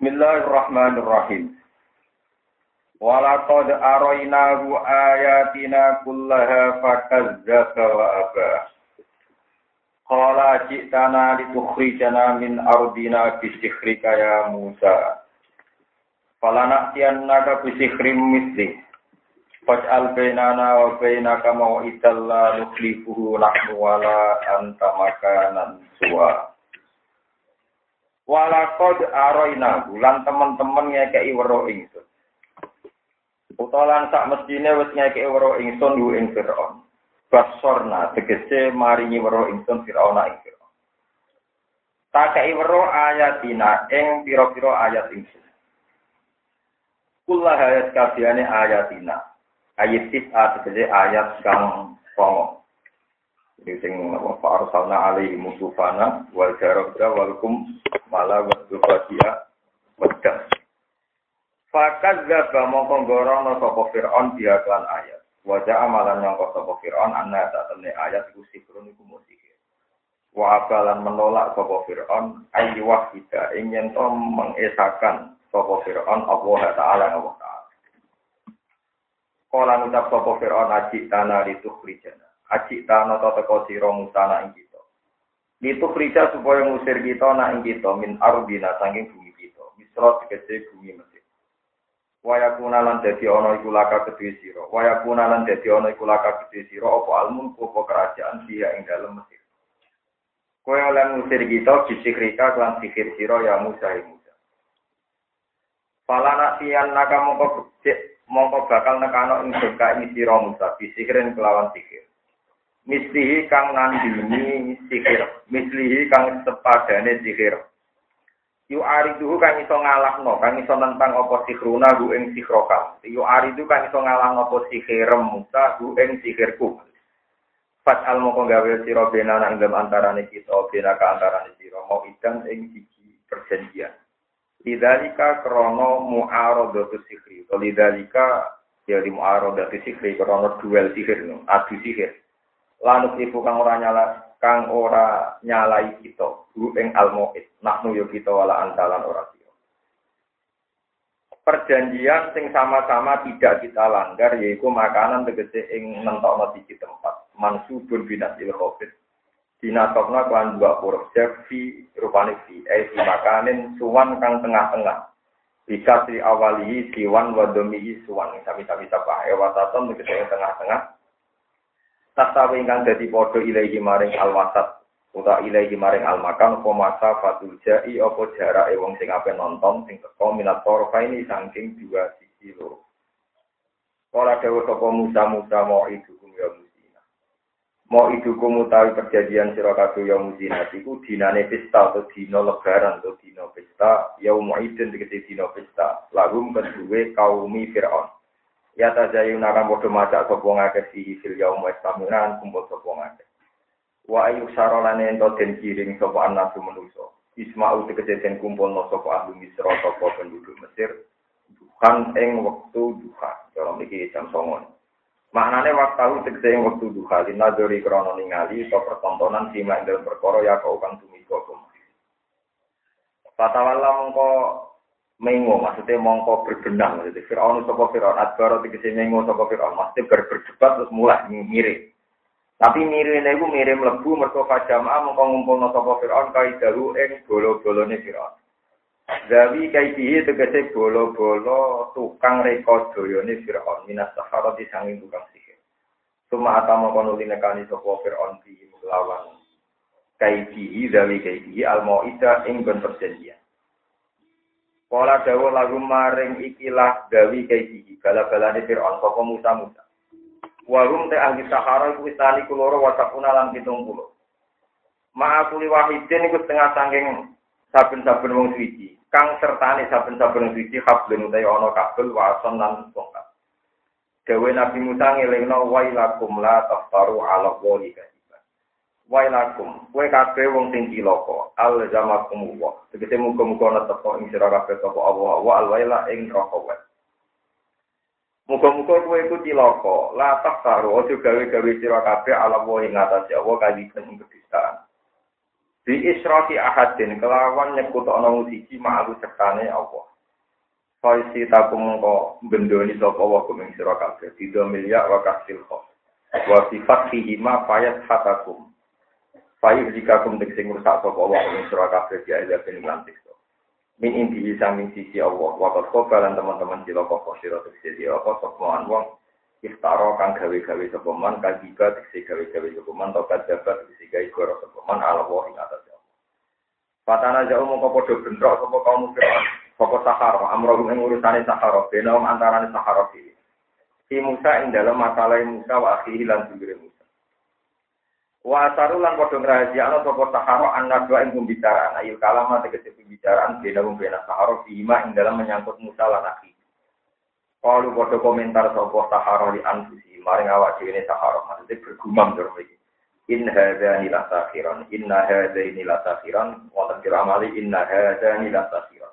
Bismillahirrahmanirrahim. Walaqad arainahu ayatina kullaha fakazzaba wa aba. Qala ji'tana litukhrijana min ardina bisykhrika ya Musa. Falana'tiyannaka bisykhrin mithli. Faj'al bainana wa bainaka maw'idan la nukhlifuhu nahnu wala anta makanan suwa. Walaqad araina bulan teman-teman ngekeki weruh ingsun. Utawa sak mestine wis ngekeki weruh ingsun yu ing Firaun. Basorna tegese maringi weruh ingsun Firaun ing Firaun. Takei weruh ayatina ing pira-pira ayat ingsun. Kullah ayat kabehane ayatina. Ayat tegese ayat kang pongong. Sing arsalna alaihi musufana wal jarabra walakum mala wasdufatia wadah. Fakazzaba mongko ngorono sapa Firaun diaklan ayat. Wajah amalan yang sapa Firaun anna tatene ayat iku sikrun iku musik. Wa abalan menolak sapa Firaun ayi wahida ing yen to mengesakan sapa Firaun Allah taala Allah taala. Kala ngucap sapa Firaun aji tanah litukhrijana. Aji tanah teko sira musana ing kita. Litukhrijah supaya ngusir kita nak ing kita min ardina saking bumi kita. Misra tegese bumi Mesir. Waya kunalan dadi ana iku laka kedhe sira. Waya kunalan dadi ana iku laka kedhe sira apa almun apa kerajaan dia ing dalem Mesir. Kowe oleh ngusir kita bisikrika lan sihir sira ya Musa ing Musa. Falana tiyan naka mongko bakal nekano ing surga ing sira Musa bisikirin kelawan sihir. Mislihi kang nandini sihir, mislihi kang sepadane sihir. Yu ariduhu kang iso ngalahno, kang iso nentang apa sihruna hu ing sihroka. Yu aridu kang iso ngalahno apa sihirem Musa hu ing sihirku. Fat al moko gawe sira benana ing dalem antarane kita, benaka antarane sira mau idan ing siji perjanjian. Lidzalika krana mu'aradatu sihri. Lidzalika ya di mu'aradatu sihri krana duel sihir no, adu sihir. Lanuk ibu kang ora nyalai kita hu ing almuid nahnu yo kita wala antalan ora sira. Perjanjian sing sama-sama tidak kita langgar yaiku makanan tegese ing nentokno siji tempat mansubun binasil khofit dinatokna kan dua huruf fi rupane fi makanin suwan kang tengah-tengah bisa di awalihi siwan wa domihi suwan sami-sami sapa ewataton tegese tengah-tengah. Tasawi ingkang dadi padha ilahi maring alwasat utawa ilahi maring almakan apa masa fatul jai apa jarake wong sing ape nonton sing teko minat torfaini saking dua sisi loro. Ora dewe sapa Musa mau idukum ya musina. Mau idukum utawi perjanjian sira kabeh ya musina iku dinane pesta atau dina lebaran atau dina pesta ya muidin tegese dina pesta lagum kedue kaumi Firaun. Ya tajayun akan bodoh macak sopong akeh sihi fil yaum wa istamiran kumpul sopong akeh. Wa ayu sarolane ento den kiring sopo anasu menuso. Isma'u tegese kumpul no sopo ahli Misra sopo penduduk Mesir. Duhan ing wektu duha. Cara iki jam 09.00. Maknane waktu tegese ing wektu duha linadori krana ningali to pertontonan simak ing perkara ya kau kang tumiko kum. Fatawalla mongko mengo maksudnya mongko berbenang maksudnya Firaun sapa Firaun adbaro tegese mengo sapa Firaun maksudnya berdebat terus mulai mirip tapi mirip niku mirip mlebu mergo fajamaah mongko ngumpulno sapa Firaun kaidahu ing bolo-bolone Firaun Zawi kaidihi tegese bolo-bolo tukang reka dayane Firaun minas saharati sanging tukang sihir suma atama kono linekani sapa Firaun di lawan kaidihi zawi kaidihi al-mau'idah ing ben perjanjian. Kala dawa lagu maring ikilah gawi kaiki bala-balane Firaun sapa Musa. Wa te ahli Sahara iku tani kuloro wasapuna lan 70. Ma'akuli wahidin iku setengah saking saben-saben wong suci. Kang sertane saben-saben wong suci hablun utawa ana kabel wason lan tongkat. Dawe Nabi Musa ngelingno wailakum la taftaru ala wali Wailakum, kowe kabeh wong sing cilaka, alzamakum wa. Tegese muga-muga ana teko ing sira kabeh sapa Allah wa alwaila ing neraka. Muga-muga kowe iku cilaka, la taftaru aja gawe-gawe sira kabeh ala wa ing atase Allah kaliben ing kedustaan. Di israfi ahadin kelawan nyekutokno siji ma'alu sertane Allah. Faisi takum mengko bendoni sapa wa kuming sira kabeh tidak milya wa kasil kho. Wa sifat fihi ma fayat hatakum. Fayu jika kum sing rusak sapa wa kuming sira kabeh ya ila ben lantik. Min inti samping sisi Allah wa qad lan teman-teman cilaka sira sisi apa sapa wong iftara kang gawe-gawe sapa man kajiba sing gawe-gawe sapa man tokat dapat sing gawe goro sapa man ala wa ing atas. Patana jauh mongko padha bentrok sapa kaum mukmin. Pokok Sahara, amroh yang urusane Sahara, benom antarane Sahara iki. Si Musa ing dalam masalah Musa wa akhihi lan dulure Musa. Wa asarulan padha ngrahasiakno sapa Sahara annadwa ing pembicaraan, ayil kalama tegese pembicaraan benom Sahara bima ing dalam menyangkut Musa lan akhihi. Kalau padha komentar sapa Sahara li anfusi, maring awak dhewe Sahara, maksudnya bergumam terus iki. In hadzani la sakhiran, inna hadzani la sakhiran, wa tadkir amali inna hadzani la sakhiran.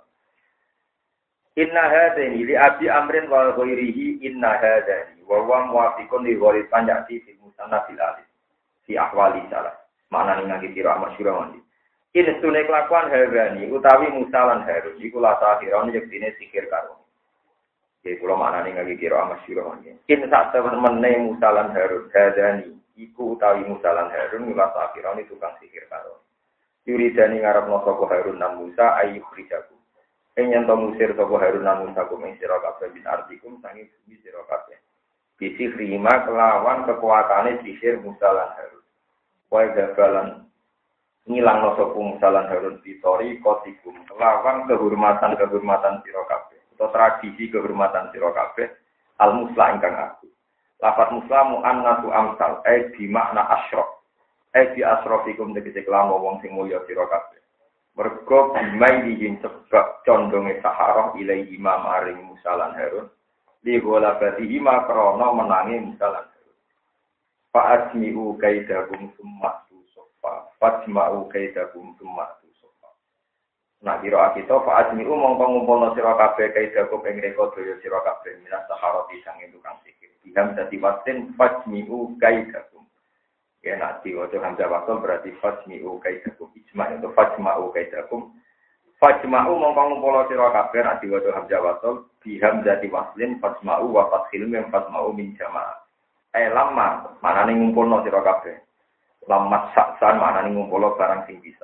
Inna hadzani li abi amrin wa ghairihi inna hadzani wa huwa muwafiqun li ghairi panjati fi musanna fil alif fi ahwali salah maknane ngangge kira masyhur mandi in sunne kelakuan hadzani utawi Musa lan Harun iku la sakhiran yektine sikir karo iki kula maknane ngangge kira masyhur mandi in sak temene Musa lan Harun hadzani iku utawi Musa lan Harun la sakhiran tukang sikir karo yuridani ngarepno sapa Harun lan Musa ayu khrijaku Enyan to musir sapa Harun lan Musa kumeng sira kabeh bin artikum sangi bumi sira kabeh. Bisi rima kelawan kekuatane sisir Musa lan Harun. Wae gabalan ngilangno sapa Musa lan Harun pitori kotikum kelawan kehormatan sira kabeh. Utawa tradisi kehormatan sira kabeh al musla ingkang aku. Lafaz muslamu annatu amsal bi makna asyraf. Bi asrafikum tegese kelawan wong sing mulya sira kabeh. Mergo bimai dijin sebab condonge Sahara ilai imam aring Musa lan Harun li gola bati ima krono menangi Musa lan Harun fa'asmi'u kaidahum summa tusofa fa'asma'u kaidahum summa tusofa nah kira kita fa'asmi'u mongko ngumpulno sira kabeh kaidahum ing reka daya sira kabeh minas Sahara pisang tukang sikir diham dadi wasin fa'asmi'u kaidahum ya nanti waktu hamzah wasal berarti fajmi'u kaidakum ijma' itu fajma'u kaidakum fajma'u mongko ngumpul sira kabeh nanti waktu hamzah wasal bi hamzati waslin fajma'u wa fathil mim fajma'u min jamaah lamma manane ngumpulno sira kabeh lamma saksan manane ngumpul barang sing bisa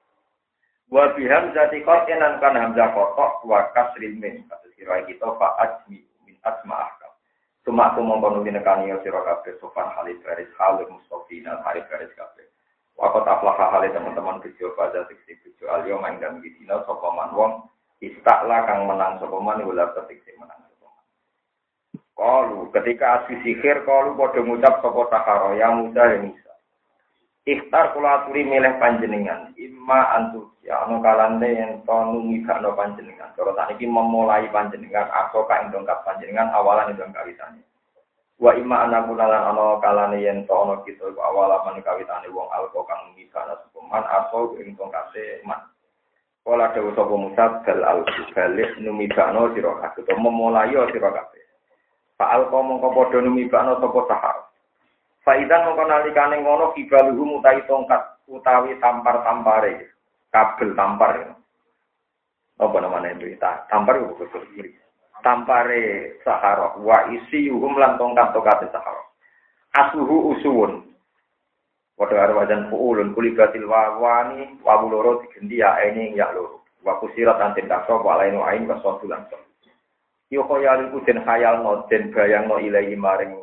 wa bi hamzati qatinan kan hamzah kotok wa kasril mim kados kira kita fa ajmi min asma'ah Cuma aku mengkono dinekani sira kabeh sofan halid garis halid mustafina halid garis kabeh. Waktu aflah halid teman-teman bejo pada siksi bejo alio main dan gidina sapa man wong istakla kang menang sapa man ulah siksi menang sapa man. Qalu ketika asli sihir qalu padha ngucap sapa Sahara ya Musa ya Musa. Ikhtar kula aturi milih panjenengan imma antu ya anu kalane yen to numibakno panjenengan cara sakniki memulai panjenengan atau ka indongkap panjenengan awalan indong kawitane wa imma anakunalan ana kalane yen to ana kita iku awalan kawitane wong alko kang numibakno sukuman atau indongkase man kala dewe sapa Musa bal al-balik numibakno sira kabeh to memulai sira kabeh fa alko mongko padha numibakno sapa Sahara Faidan mongko nalikane ngono kibaluhu utawi tongkat utawi tampar-tampare kabel tampar. Apa namanya itu? Tampar itu betul. Tampare Sahara wa isiyuhum lan tongkat-tongkate Sahara. Asuhu usuwun. Padha karo wajan fuulun kulibatil wawani wa loro digendi ya ene ya loro. Wa kusirat anten kaso wa lainu ain wa sodulan. Yo khayal iku den khayalno den bayangno ilahi maring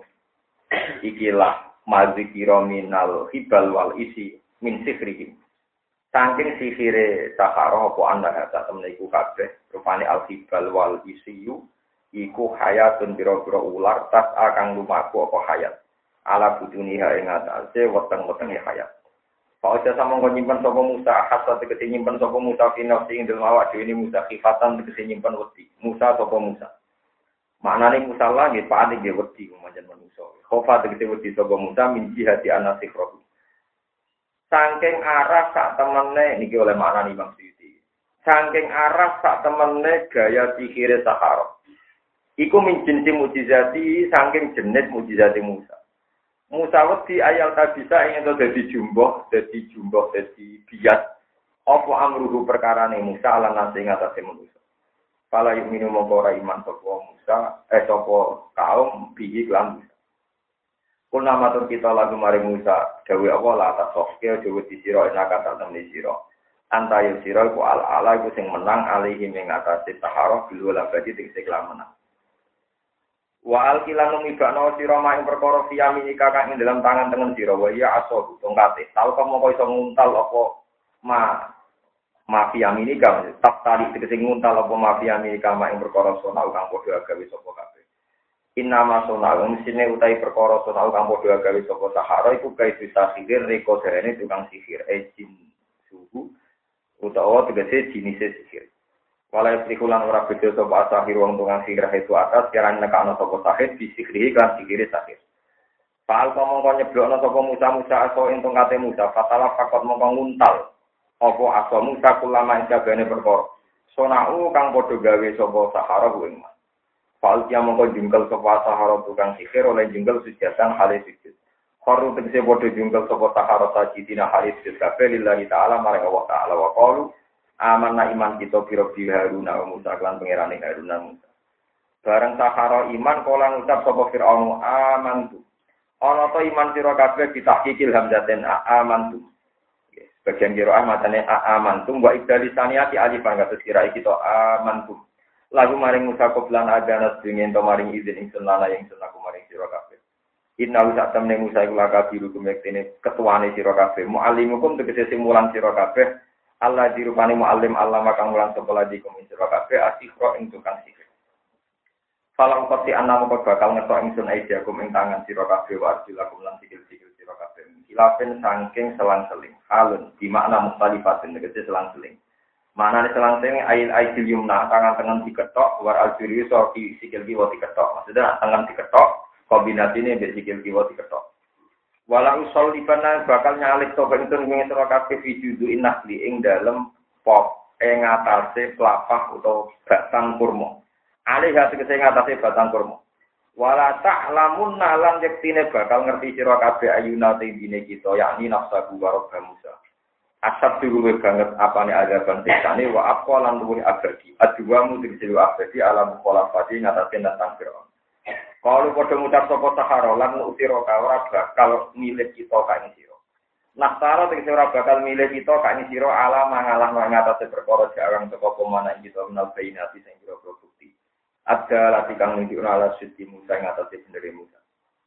ikilah mazikira minal hibal wal isi min sifrihim. Saking sifire Sahara apa anda kata temen iku kabeh rupane al hibal wal isiyu iku hayatun biro-biro ular tas akan lumaku apa hayat. Ala buduniha ing atase weteng-wetenge hayat. Pak aja sama nyimpen sapa Musa hasa tegese nyimpen sapa Musa final sing dalem awak dhewe Musa khifatan tegese nyimpen wedi. Musa sapa Musa. Maknane Musa lah nggih panik nggih wedi manjen manusa. Khofa tegese wedi sapa Musa min jihati anasikroh. Saking arah sak temene niki oleh maknane Imam Suyuti. Saking arah sak temene gaya sihire Sahara. Iku min jinsi mujizati saking jenis mujizati Musa. Musa wedi ayal ta bisa ingin to dadi jumboh, dadi bias. Apa amruhu perkarane Musa ala nasi ngatasi manusia. Kala yuk minum mongkora iman sapa Musa, sapa kaum bihi lan Musa. Kuna matur kita lagu mari Musa, dawe apa la atas sofke dawe di sira enak kata temni sira. Antayo sira ku ala iku sing menang alihi ing atase taharah bil labadi tegese menang. Wa alkilan ngibakno sira maing perkara fiyami kakak ing dalam tangan tengen sira wa ya aso tongkate. Tau kamu kok iso nguntal apa mafia minika tak tali tegese nguntal apa mafia minika maing perkara sona kang padha gawe sapa kabeh. Inama sona mesine utahe perkara sona kang padha gawe sapa sahara iku kae bisa sihir reko derene tukang sihir jin suhu utawa tegese jenis sihir. Walai trikulan ora beda sapa sahir wong tukang sihir itu atas kiran nekano sapa sahir disihri kan sihir sahir. Pal mongko nyeblokno sapa Musa aso ing tongkate Musa fatala fakot mongko nguntal apa asamu sakulama ing jagane perkara sonau kang padha gawe sapa sahara kuwi mas fal kia mongko jungkel sapa sahara tukang sihir oleh jungkel sujatan halis sujud kharu tegese padha jungkel sapa sahara sajidina halis sujud kabeh lillahi taala marang Allah taala wa qalu amanna iman kita bi Haruna wa Musa lan pangerane Haruna Musa bareng sahara iman kala ngucap sapa Firaun amantu ana ta iman sira kabeh ditahqiqil hamzaten amantu bagian kiroah matane amantum wa ibdalisaniati alifan kados kirai kita amantum lagu maring Musa koplan agana sedengin to maring izin ingsun lana ingsun aku maring sira kabeh inna usak temne Musa iku lakabiru kumektene ketuane sira kabeh muallimukum tegese sing mulang sira kabeh Allah dirupane muallim Allah makang mulang sekolah di kum sira kabeh asihro ing tukang sihir falang pati ana moko bakal ngetok ingsun aidiakum ing tangan sira kabeh wa arjulakum lan sikil-sikil sira kabeh ilafen saking selang-seling halun di makna mustalifatin tegese selang-seling maknane selang-seling ail yumna tangan tengen diketok war aljuri so di sikil kiwa diketok maksudnya tangan diketok kombinasine mbek sikil kiwa diketok wala usallifana bakal nyalik to bentun ing sira kabeh fijudu innahli ing dalem pop ing atase plapah utawa batang kurma alih tegese ing atase batang kurma wala ta'lamun lan yektine bakal ngerti sira kabeh ayuna tindine kita yakni nafsu wa Musa. Asab diluwe banget apane azaban sikane wa aqalan luwe abadi. Adwamu dijilu abadi alam kholafati ngatasen tentang Firaun. Kalau padha ngucap sapa sahara lan utira ka ora bakal milih kita ka ing sira. Nasara tegese ora bakal milih kita ka ing sira alam mangalah ngatasi perkara jarang teko pemana kita menal bainati sing bukti. Ada latihan menunjukkan ala suci Musa yang atasnya sendiri Musa.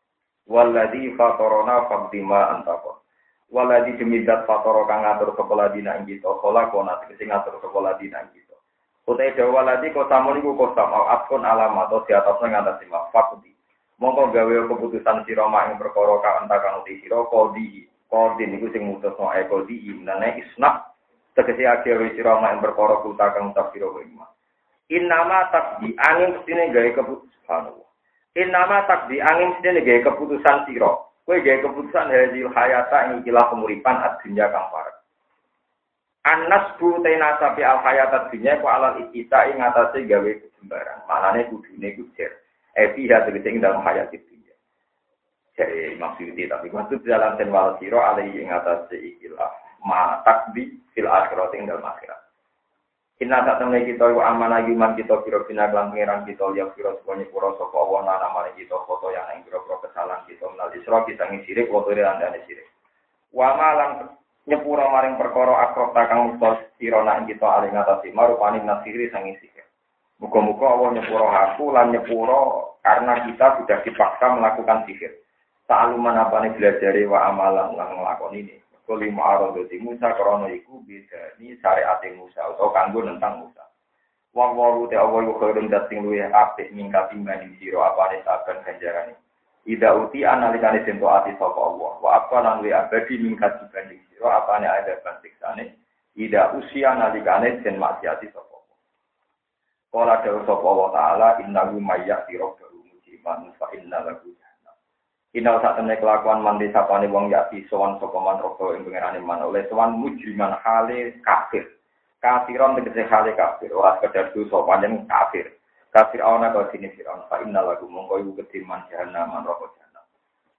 Waladhi fatorona faktima antako. Waladhi demidat fatoro kang ngatur sekolah dina kita. Kola kona tegesi ngatur sekolah dina kita. Utai dawa waladhi kosamun iku kosam au afkun alam atau di atasnya ngatasnya fakti. Mongko gawe keputusan siroma yang berkoro ka antakan uti siro kodi. Kodin iku sing mutus no kodi imnane isnak. Tegesi akhir siroma yang berkoro kutakan utap siro wima. Innama takdi angin mestine gawe keputusan. Innama takdi angin mestine gawe keputusan sira. Kowe gawe keputusan hadil hayata ing ikilah kemuripan ad-dunya kang parek. An-nasbu tainasa fi al-hayata dunya ku alal ikita ing atase gawe kejembaran. Manane kudune kujer. Fiha tegese ing dalam hayat dunya. Jadi maksudnya tapi maksud dalam tenwal sira alai ing atase ikilah ma takdi fil akhirat ing dalam akhirat. Inna tak temui kita iku amanah iman kita kira bina kelan pengiran kita liya kira semuanya pura sapa Allah nama kita foto yang ing kira kesalahan kita menal isra kita ngi sirik foto andane sirik. Wa malang nyepura maring perkara akrab kang mustos sira nak kita aling ngatasi marupane nasiri sangi sihir. Muga-muga Allah nyepura aku lan nyepura karena kita sudah dipaksa melakukan sihir. Ta'aluman apane belajare wa amalan lan nglakoni ini. Lima arodoti Musa krono iku beda ni syariat Musa atau kanggo tentang Musa. Wong waru te awal khairun dating luwe apik mingkat timbang sira apane saben ganjarane. Ida uti analikane den ati sapa Allah. Wa apa lan luwe abadi mingkat dibanding sira apane ada bantiksane. Ida usia analikane den maksiati sapa Allah. Kala dawuh sapa Allah taala innahu mayyati rabbuhu mujiban fa inna lahu Inau saat temen kelakuan mandi sapane wong yati sowan sapa man robo ing pengerane man oleh sowan mujriman hale kafir. Kafiron tegese hale kafir, ora sekedar dosa panjen kafir. Kafir ana kok dene Firaun fa innal lagu mongko iku kediman jahanam man robo jahanam.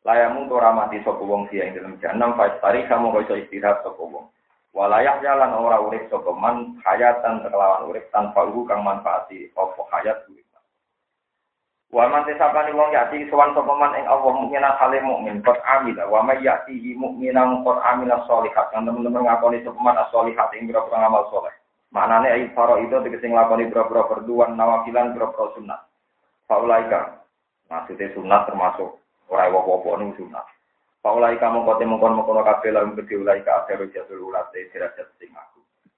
Layamu ora mati sapa wong sia ing dalem jahanam fastari kamu iso istirahat sapa wong. Walayah jalan ora urip sapa man hayatan kelawan urip tanpa kang manfaati apa hayat urip. Wa man tesapani wong yati sowan sapa man ing Allah mukmin hale mukmin qad amil wa may yati mukminan qad amila sholihat kan teman-teman ngakoni sapa man sholihat ing boro amal saleh. Maknane ayi faro itu tegese nglakoni boro perduan nawafilan boro sunat. Faulaika maksudnya sunat termasuk ora apa-apa ning sunat. Paulai kamu kote mengkon kabeh lan gede ulai ka akhiru jatul ulate derajat sing aku.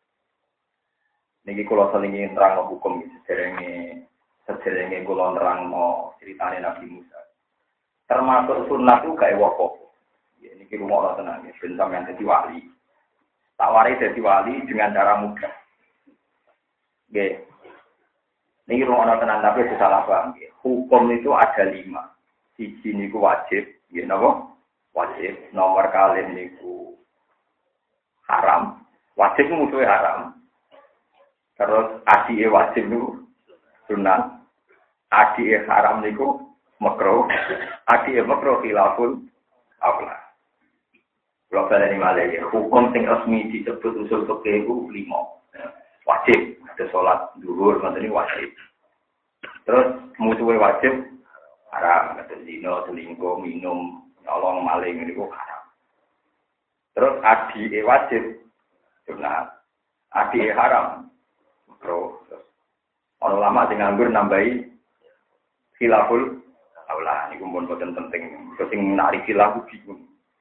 Niki kula salingi nerang hukum sederenge kula nerangno critane Nabi Musa. Termasuk sunat itu gak apa-apa. Ya niki rumono tenan ya ben sampeyan dadi wali. Tawari dadi wali dengan cara mudah. Nggih. Niki rumono tenan tapi salah paham nggih. Hukum itu ada 5. Siji niku wajib, nggih napa? Wajib. Nomor kali niku haram. Wajib musuhe haram. Terus adike wajib niku sunat. Adike haram niku makruh. Adike makruh khilaful aula. Kalau baleni malih hukum sing resmi disebut usul fikih iku 5. Wajib. Ada salat zuhur ngoten wajib. Terus musuhe wajib haram, kata zina, selingkuh, minum, nyolong, maling, ini kok haram. Terus adike wajib, sunat. Adike haram, makruh. Orang lama sing nganggur nambahi khilaful aula. Ini kumpul boten penting. Terus sing narik khilaf bingung.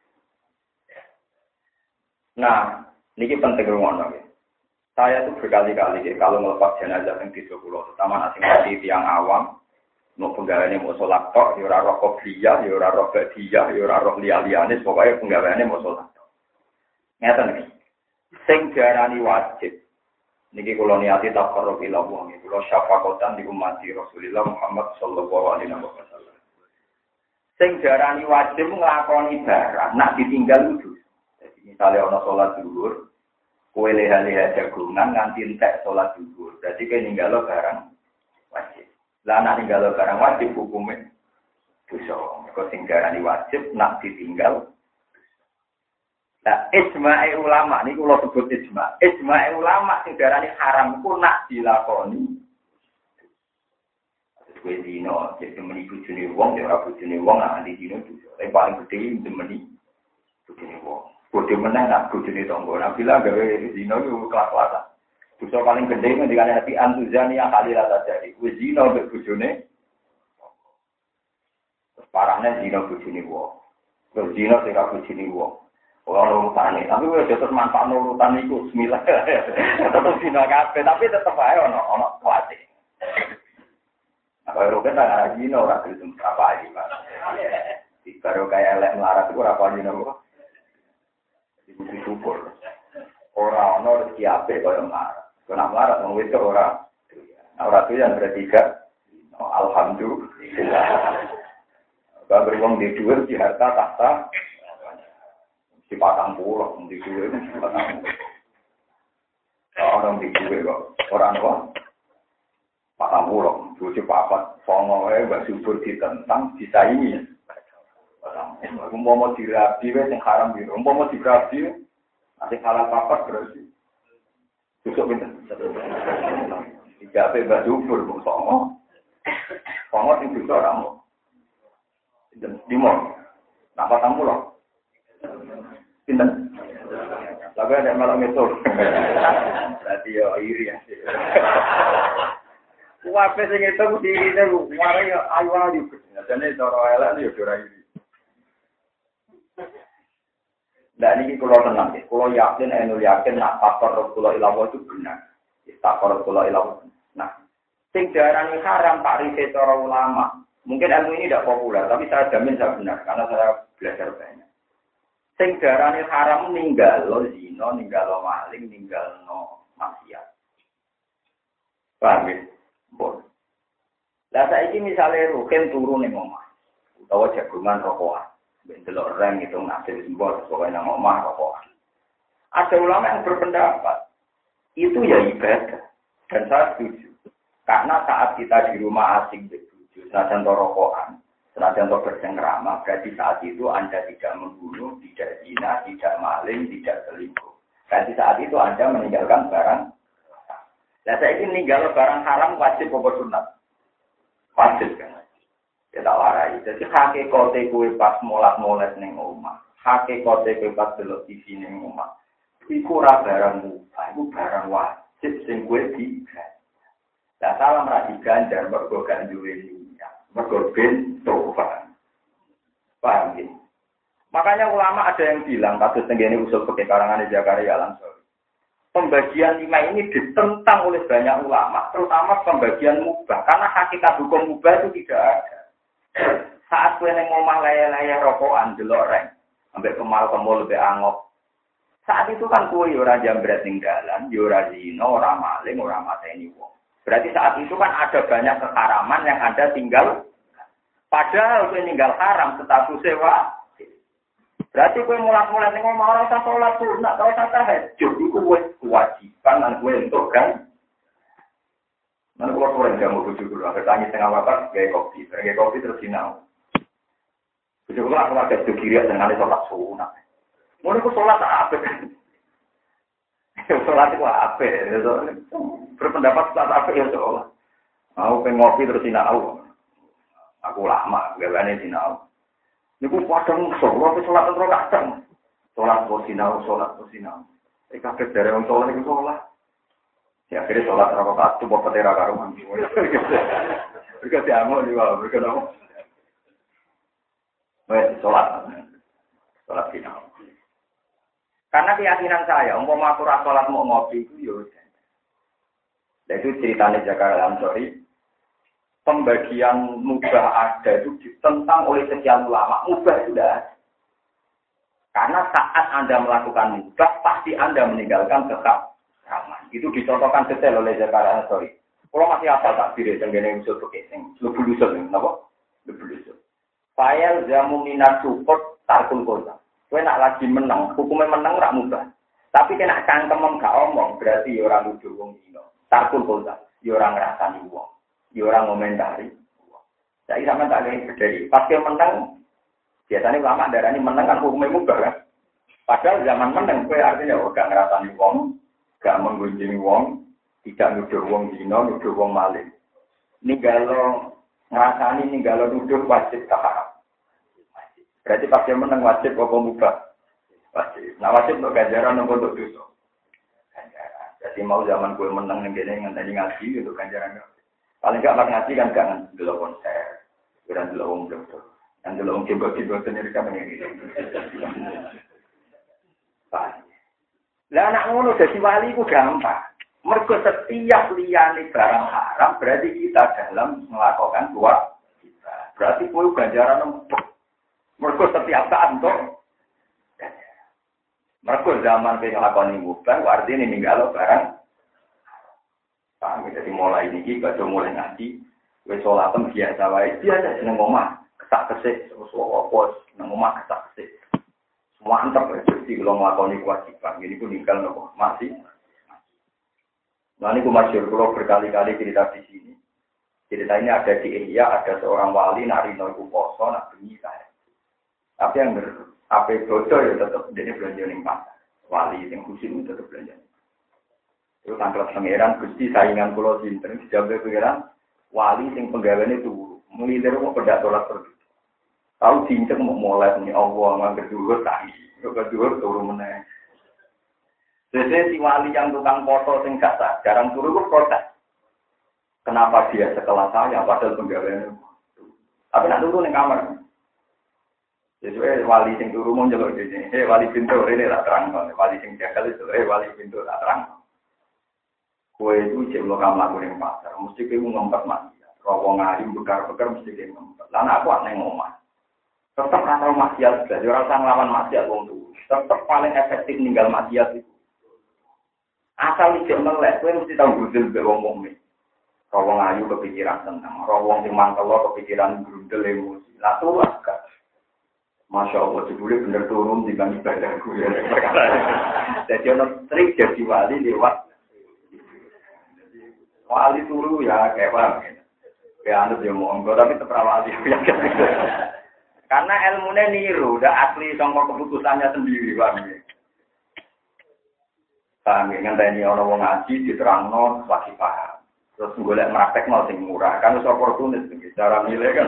Nah, ini penting rumono ya. Saya tuh berkali-kali kalau melepas jenazah yang 30, terutama nasi mati tiang awam. Mau penggaweane mau salat tok, ya ora roh qobliyah, ya ora roh ba'diyah, ya ora roh liyane, pokoke penggaweane mau salat tok. Ngeten iki. Sing diarani wajib. Niki kula niati taqarrub ila Allah, kula syafaqatan di umat Rasulullah Muhammad sallallahu alaihi wasallam. Sing diarani wajib nglakoni barang, nak ditinggal kudu. Jadi misalnya ana salat zuhur, kowe leha-leha jagungan nganti entek salat zuhur. Berarti kowe ninggalo barang wajib. Lah nek ninggalo barang wajib hukume dosa. Mergo sing diarani wajib nak ditinggal. Lah ijma'i ulama niku kula sebut ijma'. Ijma'i ulama sing diarani haram iku nak dilakoni. Kowe dino jadi meni bojone wong ya ora bojone wong nak dino dosa. Tapi paling gedhe meni bojone wong. Bodoh menang nak bojone tangga. Nah bila gawe dino iku kelas-kelasan. Dosa paling gede ngendikane hati antuzani yang kali rata jadi. Wis zina mbek bojone. Terus parahne zina bojone wong. Terus zina sing ra bojone wong. Ora urutane, tapi wis terus manfaat urutan iku bismillah. Tetep zina kabeh, tapi tetep ae ono kuwate. Apa ora kena ara zina ora kudu apa iki, Pak. Dikaro kaya elek melarat iku ora apa zina kok. Iku syukur. Ora ono rezeki apik kaya melarat. Kena melarat wong wedok ora. Nah, ora tuh yang berarti gak. Alhamdulillah. Bagi wong di dhuwur di harta tahta di patang pulau di dhuwur di patang. Orang di dhuwur kok ora ono. Patang pulau, bojo papat, songo wae mbak subur ditentang disaingi. Umpama dirabi wae sing haram biru. Umpama dirabi nek halal papat berarti besok pinter. Tiga pe mbak subur kok songo. Songo sing bisa ora mau. Dimon. Nak patang pulau. Pinter. Lagu ada malam itu. Berarti yo iri ya. Wape sing itu dirine lu, mare yo ayu-ayu. Jane cara elek yo ora iri. Lah niki kula tenang nggih. Kula yakin nak faktor kula ilawo itu benar. Faktor kula ilawo. Nah, sing diarani haram takrife cara ulama. Mungkin ilmu ini tidak populer, tapi saya jamin saya benar karena saya belajar banyak. Sing diarani haram ninggalo zina, ninggalo maling, ninggalo maksiat. Paham ya? Bon. Lah saiki misale rugen turu ning omah utawa jagungan rokokan, ben delok reng itu nasib simbol pokoke nang omah rokokan. Ada ulama yang berpendapat itu ya ibadah dan saya setuju. Karena saat kita di rumah asing begitu, senajan rokokan, Senajan to bercengkrama, berarti saat itu Anda tidak membunuh, tidak zina, tidak maling, tidak selingkuh. Berarti saat itu Anda meninggalkan barang. Nah, saya ingin meninggal barang haram wajib apa sunat? Wajib kan? Kita warai. Jadi hakikate kuwi pas molat-molat ning omah. Hakikate kuwi pas delok TV ning omah. Iku ora barang mubah, iku barang wajib sing kuwi digawe. Lah salam ra diganjar mergo gak duwe niat. Mergo ben tobat. Paham ya? Makanya ulama ada yang bilang, kasus tenggene usul fikih karangan Zakaria Al-Ansori. Pembagian 5 ini ditentang oleh banyak ulama, terutama pembagian mubah. Karena hakikat hukum mubah itu tidak ada. Saat kowe ning omah laya-laya rokokan delok reng, ambek kemal-kemul lebih angop. Saat itu kan kowe yo ora jambret ning dalan, yo ora zina, ora maling, ora mateni wong. Berarti saat itu kan ada banyak keharaman yang Anda tinggal. Padahal kowe ninggal haram status sewa. Berarti kowe mulak-mulak ning omah ora usah salat sunat, ora usah tahajud, iku wis kewajiban lan kowe entuk kan. Mana kalau orang jamu bujuk dulu, ada tangis tengah wakar, gaya kopi terus sinau. Bujuk dulu aku ada bujuk kiri dengan sholat sunat. Mau aku sholat apa? Sholat itu apa? Berpendapat sholat apa ya sholat? Aku pengen ngopi terus sinau. Aku lama, gak berani sinau. Ini aku padang sholat terus kadang. Sholat terus sinau. Kaget dari orang sholat itu sholat. Ya akhirnya sholat rakaat itu buat petera karuman. Berkat diamuk juga, berkat apa? Sholat final. Karena keyakinan saya, umpama aku sholat mau ngopi itu ya. Dan itu ceritanya Zakaria Al-Ansori. Pembagian mubah ada itu ditentang oleh sekian ulama. Mubah sudah ada. Karena saat Anda melakukan mubah, pasti Anda meninggalkan tetap. Itu dicontohkan detail oleh Zakaria Al-Ansori. Kalau masih apa takbir yang gini usul pakai sing lebih usul ini, apa? Lebih usul. Fayal jamu minat support tarkul kota. Kue nak lagi menang, hukumnya menang rak mubah. Tapi kena cangkem gak omong, berarti orang nuduh wong dino. Tarkul kota, orang ngrasani wong, orang ngomentari. Jadi sama tak lagi berdiri. Pas dia menang, biasanya ulama darah ini menang kan hukumnya mubah kan. Padahal zaman menang, kue artinya gak ngrasani wong. Gak menggunjing wong, tidak nuduh wong dino, nuduh wong maling. Ninggalo ngrasani, ninggalo nuduh wajib haram. Berarti pas dia menang wajib apa mubah? Wajib. Nah wajib untuk ganjaran untuk dosa. Ganjaran. Jadi mau zaman gue menang ngene ngenteni ngaji itu ganjaran. Paling gak ngaji kan gak ndelok konser, ora ndelok wong dokter. Yang ndelok wong coba-coba sendiri kan ngene. Lah anak ngono dadi wali ku gampang. Mergo setiap liyane barang haram berarti kita dalam melakukan kewajiban. Berarti kowe ganjaran empuk. Mergo setiap saat untuk ganjaran. Mergo zaman kowe nglakoni mubah artine ninggalo barang. Paham jadi mulai niki kado mulai ngaji wis salatem biasa wae biasa seneng omah kesak-kesik terus apa nang omah kesak-kesik. Mantap rezeki kalau melakukan kewajiban. Ini pun tinggal nopo masih. Nah ini aku masyhur kalau berkali-kali cerita di sini. Cerita ini ada di Ihya, ada seorang wali narino iku poso nak bengi saya. Tapi yang apa bocor ya tetap jadi belanja ning pasar. Wali yang khusus tetap belanja. Itu tanggal pangeran Gusti saingan kula sinten dijawab pangeran wali sing penggaweane turu. Mulai dari mau pedak sholat pergi. Tahu cincang mau mulai nih Allah nggak kedua tadi, kedua turun meneng. Jadi si wali yang tukang foto sing gak jarang turun itu protes. Kenapa dia sekelas saya padahal penggaweannya? Tapi nak turun di kamar. Jadi wali sing turun mau jalan di sini. Wali pintu ini tak terang, wali sing jagal itu, wali pintu tak terang. Kue itu cewek kamar gue yang pasar, mesti kue ngempet mati. Rawong alim bekar-bekar mesti kue ngempet. Lalu aku aneh ngomong. Tetap rasa maksiat, jadi orang ngelawan maksiat wong tuh. Tetap paling efektif ninggal maksiat itu. Asal ijek melek, kowe mesti tahu gudel be wong nih. Rawong ayu kepikiran tenang, rawong sing mangkel kepikiran gudel emosi. Lah tuh agak. Masya Allah, jebule bener turun di bang ibadahku ya. Jadi ono trik jadi wali lewat. Wali turu ya kayak apa? Ya anut yo monggo tapi terperawati karena ilmunya niru, udah asli sangka keputusannya sendiri, Bang. Paham ya, ngenteni ana wong ngaji diterangno lagi paham. Terus golek praktekno sing murah, kan wis oportunis iki cara milih kan.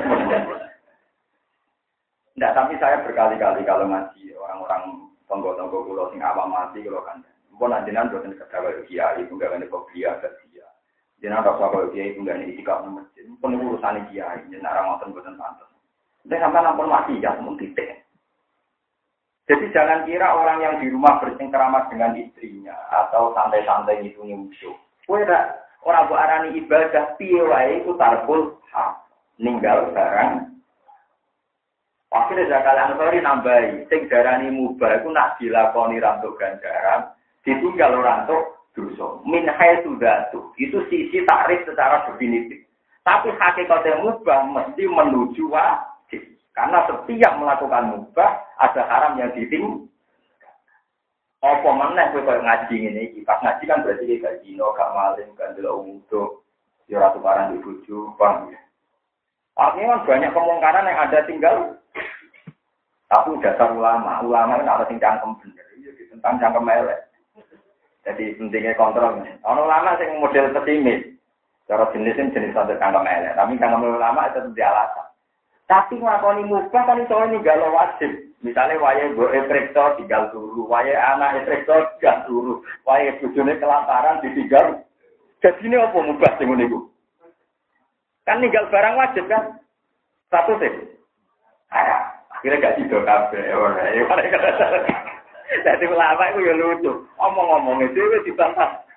Ndak, tapi saya berkali-kali kalau ngaji orang-orang tonggo-tonggo kula sing awam mati kula kan. Mpun anjenan boten kedawa kiai, enggak ngene kok kiai ke dia. Jenengan rasa kok kiai enggak nek itikaf nang masjid. Mpun urusane kiai, jenengan ora ngoten boten pantes. Nek sampeyan ampun mati ya mun titik. Jadi jangan kira orang yang di rumah bersengkrama dengan istrinya atau santai-santai itu musuh. Kowe ora mbok arani ibadah piye wae iku tarkul hak. Ninggal barang. Akhire zakal ansori nambahi sing darani mubah iku nak dilakoni rantuk ganjaran, ditinggal ora rantuk dosa. Min haitsu dzatu. Itu sisi takrif secara definitif. Tapi hakikatnya mubah mesti menuju wajib. Karena setiap melakukan mubah ada haram yang ditinggalkan. Apa meneh kowe koyo ngaji ngene iki. Pas ngaji kan berarti iki gak zina, gak maling, gak ndelok umuduk, ya ora tukaran di bojo, paham ya. Artinya kan banyak kemungkaran yang ada tinggal. Tapi dasar ulama kan ada sing cangkem bener. Iya tentang cangkem elek. Jadi pentingnya kontrol. Ana ulama sing model pesimis. Cara jenis satu cangkem elek, tapi cangkem ulama itu tidak alasan. Tapi nglakoni mubah kan iso ninggal wajib. Misale wayahe mbok rektor tinggal turu, wayahe anak rektor tinggal turu, wayahe bojone kelaparan ditinggal. Dadine apa mubah sing ngene iku? Kan ninggal barang wajib kan? Satu sih. Akhirnya gak tidur kabeh ora. Dadi ulama iku ya lucu. Omong-omong itu dibantah.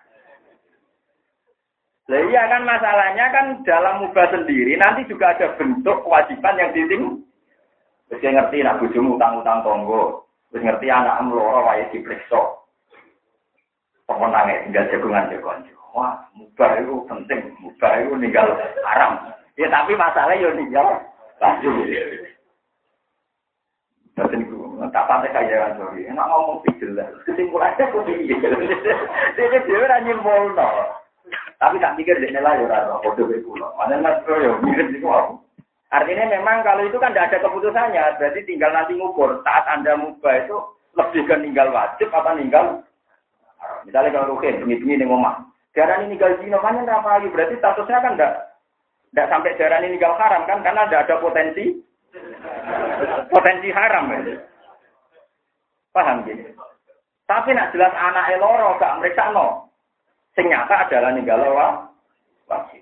Lah iya kan masalahnya kan dalam mubah sendiri nanti juga ada bentuk kewajiban yang diting. Wis ngerti nak bojomu utang-utang tonggo, wis ngerti anakmu loro wae dipriksa. Pemenange tinggal jagungan jagonjo. Wah, mubah itu penting, mubah itu ninggal haram. Ya tapi masalahnya yo ninggal lanjut. Batin ku, tak pantai kaya kan sorry. Enak ngomong jelas. Kesimpulannya kok piye? Dia dhewe ra nyimpulno. Tapi tak pikir dia nilai orang bodoh itu loh. Mana mas yo mirip itu aku. Artinya memang kalau itu kan tidak ada keputusannya, berarti tinggal nanti ngukur saat Anda mubah itu lebih ke ninggal wajib apa ninggal. Misalnya kalau rukin bengi-bengi ning omah, darah ini ninggal zina kan apa lagi? Berarti statusnya kan tidak sampai darah ini ninggal haram kan karena tidak ada potensi haram ya. Paham gini? Tapi nak jelas anak eloro gak mereka no. Sing nyata adalah ninggal wajib.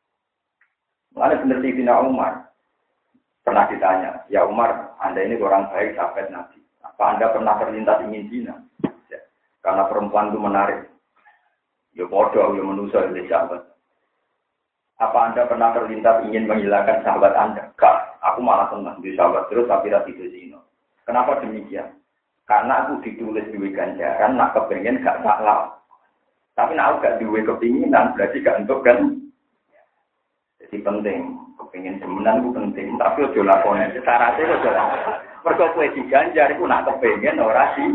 Mulane bener Sayyidina Umar pernah ditanya, ya Umar, Anda ini orang baik sahabat Nabi. Apa Anda pernah terlintas ingin zina? Ya, karena perempuan itu menarik. Ya bodoh, ya manusia, ya sahabat. Apa Anda pernah terlintas ingin menghilangkan sahabat Anda? Enggak, aku malah senang di sahabat terus tapi tidak zina. Kenapa demikian? Karena aku ditulis di ganjaran, nak kepengen gak salah. Tapi nak gak duwe kepinginan berarti gak untuk kan. Jadi penting, kepingin semenan itu penting, tapi ojo lakone syaratnya ojo lakone. Mergo kowe diganjar iku nak kepengin ora sih.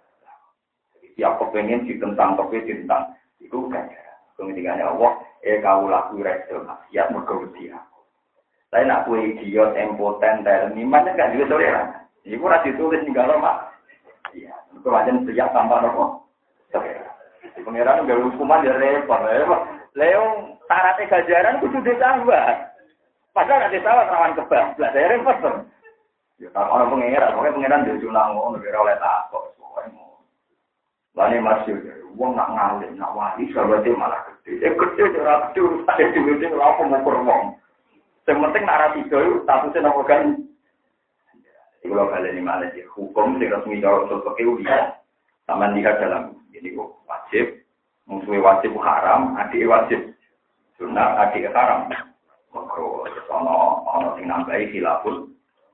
Tiap kepengin ditentang tapi ditentang iku ganjaran. Kemudian Allah, kau laku resto maksiat mergo wedi aku. Saya nak kowe idiot, impoten, terniman gak duwe toleran. Iku ora ditulis ninggalo mak. Iya, mergo pancen siap tanpa nopo. Pengiran nggak hukuman ya repot, Leong syaratnya ganjaran kudu ditambah. Padahal ada sawah rawan kebab, lah saya repot tuh. Ya kalau orang pengiran, pokoknya pengiran dia junang mau negara oleh takut, pokoknya mau. Lani masih, uang nak ngalim, nak wali, sahabatnya malah gede. Gede orang gede urus ada di dunia, apa mau berwong. Yang penting narasi itu, statusnya nopo kan. Jadi kalau kalian ini malah sih, hukum sih resmi kalau sesuatu uliah. Sama lihat dalam ini kok wajib, musuhnya wajib haram, adik wajib sunat, adik haram. Makro ono sing nambahi khilafun.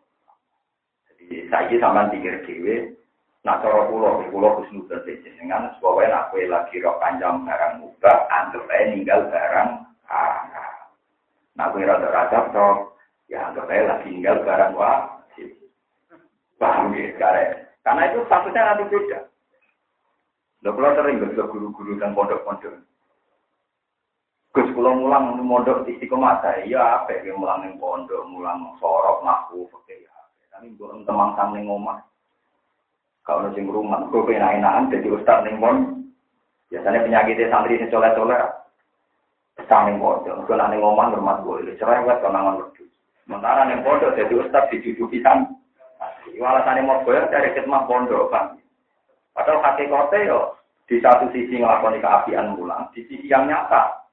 Jadi saya sama pikir dewe, nak cara pulau khusnudan dengan supaya nak kue lagi rok panjang barang mubah, anggap aja ninggal barang haram. Nak kue rada-rada rok, ya anggap aja lagi ninggal barang wajib. Paham ya, karena itu statusnya nanti beda. Kalau sering berdoa guru-guru dan pondok-pondok. Gus kula mulang mondok Istiqomah ya apik ge mulang ning pondok, mulang sorok mahfu oke ya. Tapi mbok temang sang ning omah. Kalau sing rumah kok enak-enakan dadi ustaz ning pondok. Biasanya penyakitnya santri sing soleh-soleh sang ning pondok, kok ning omah hormat boleh cerewet konangan wedhus. Sementara ning pondok dadi ustaz dicucuki san. Walasane mau goyang dari khidmah pondok kan. Padahal hakikate yo di satu sisi nglakoni keapian mulang, di sisi yang nyata.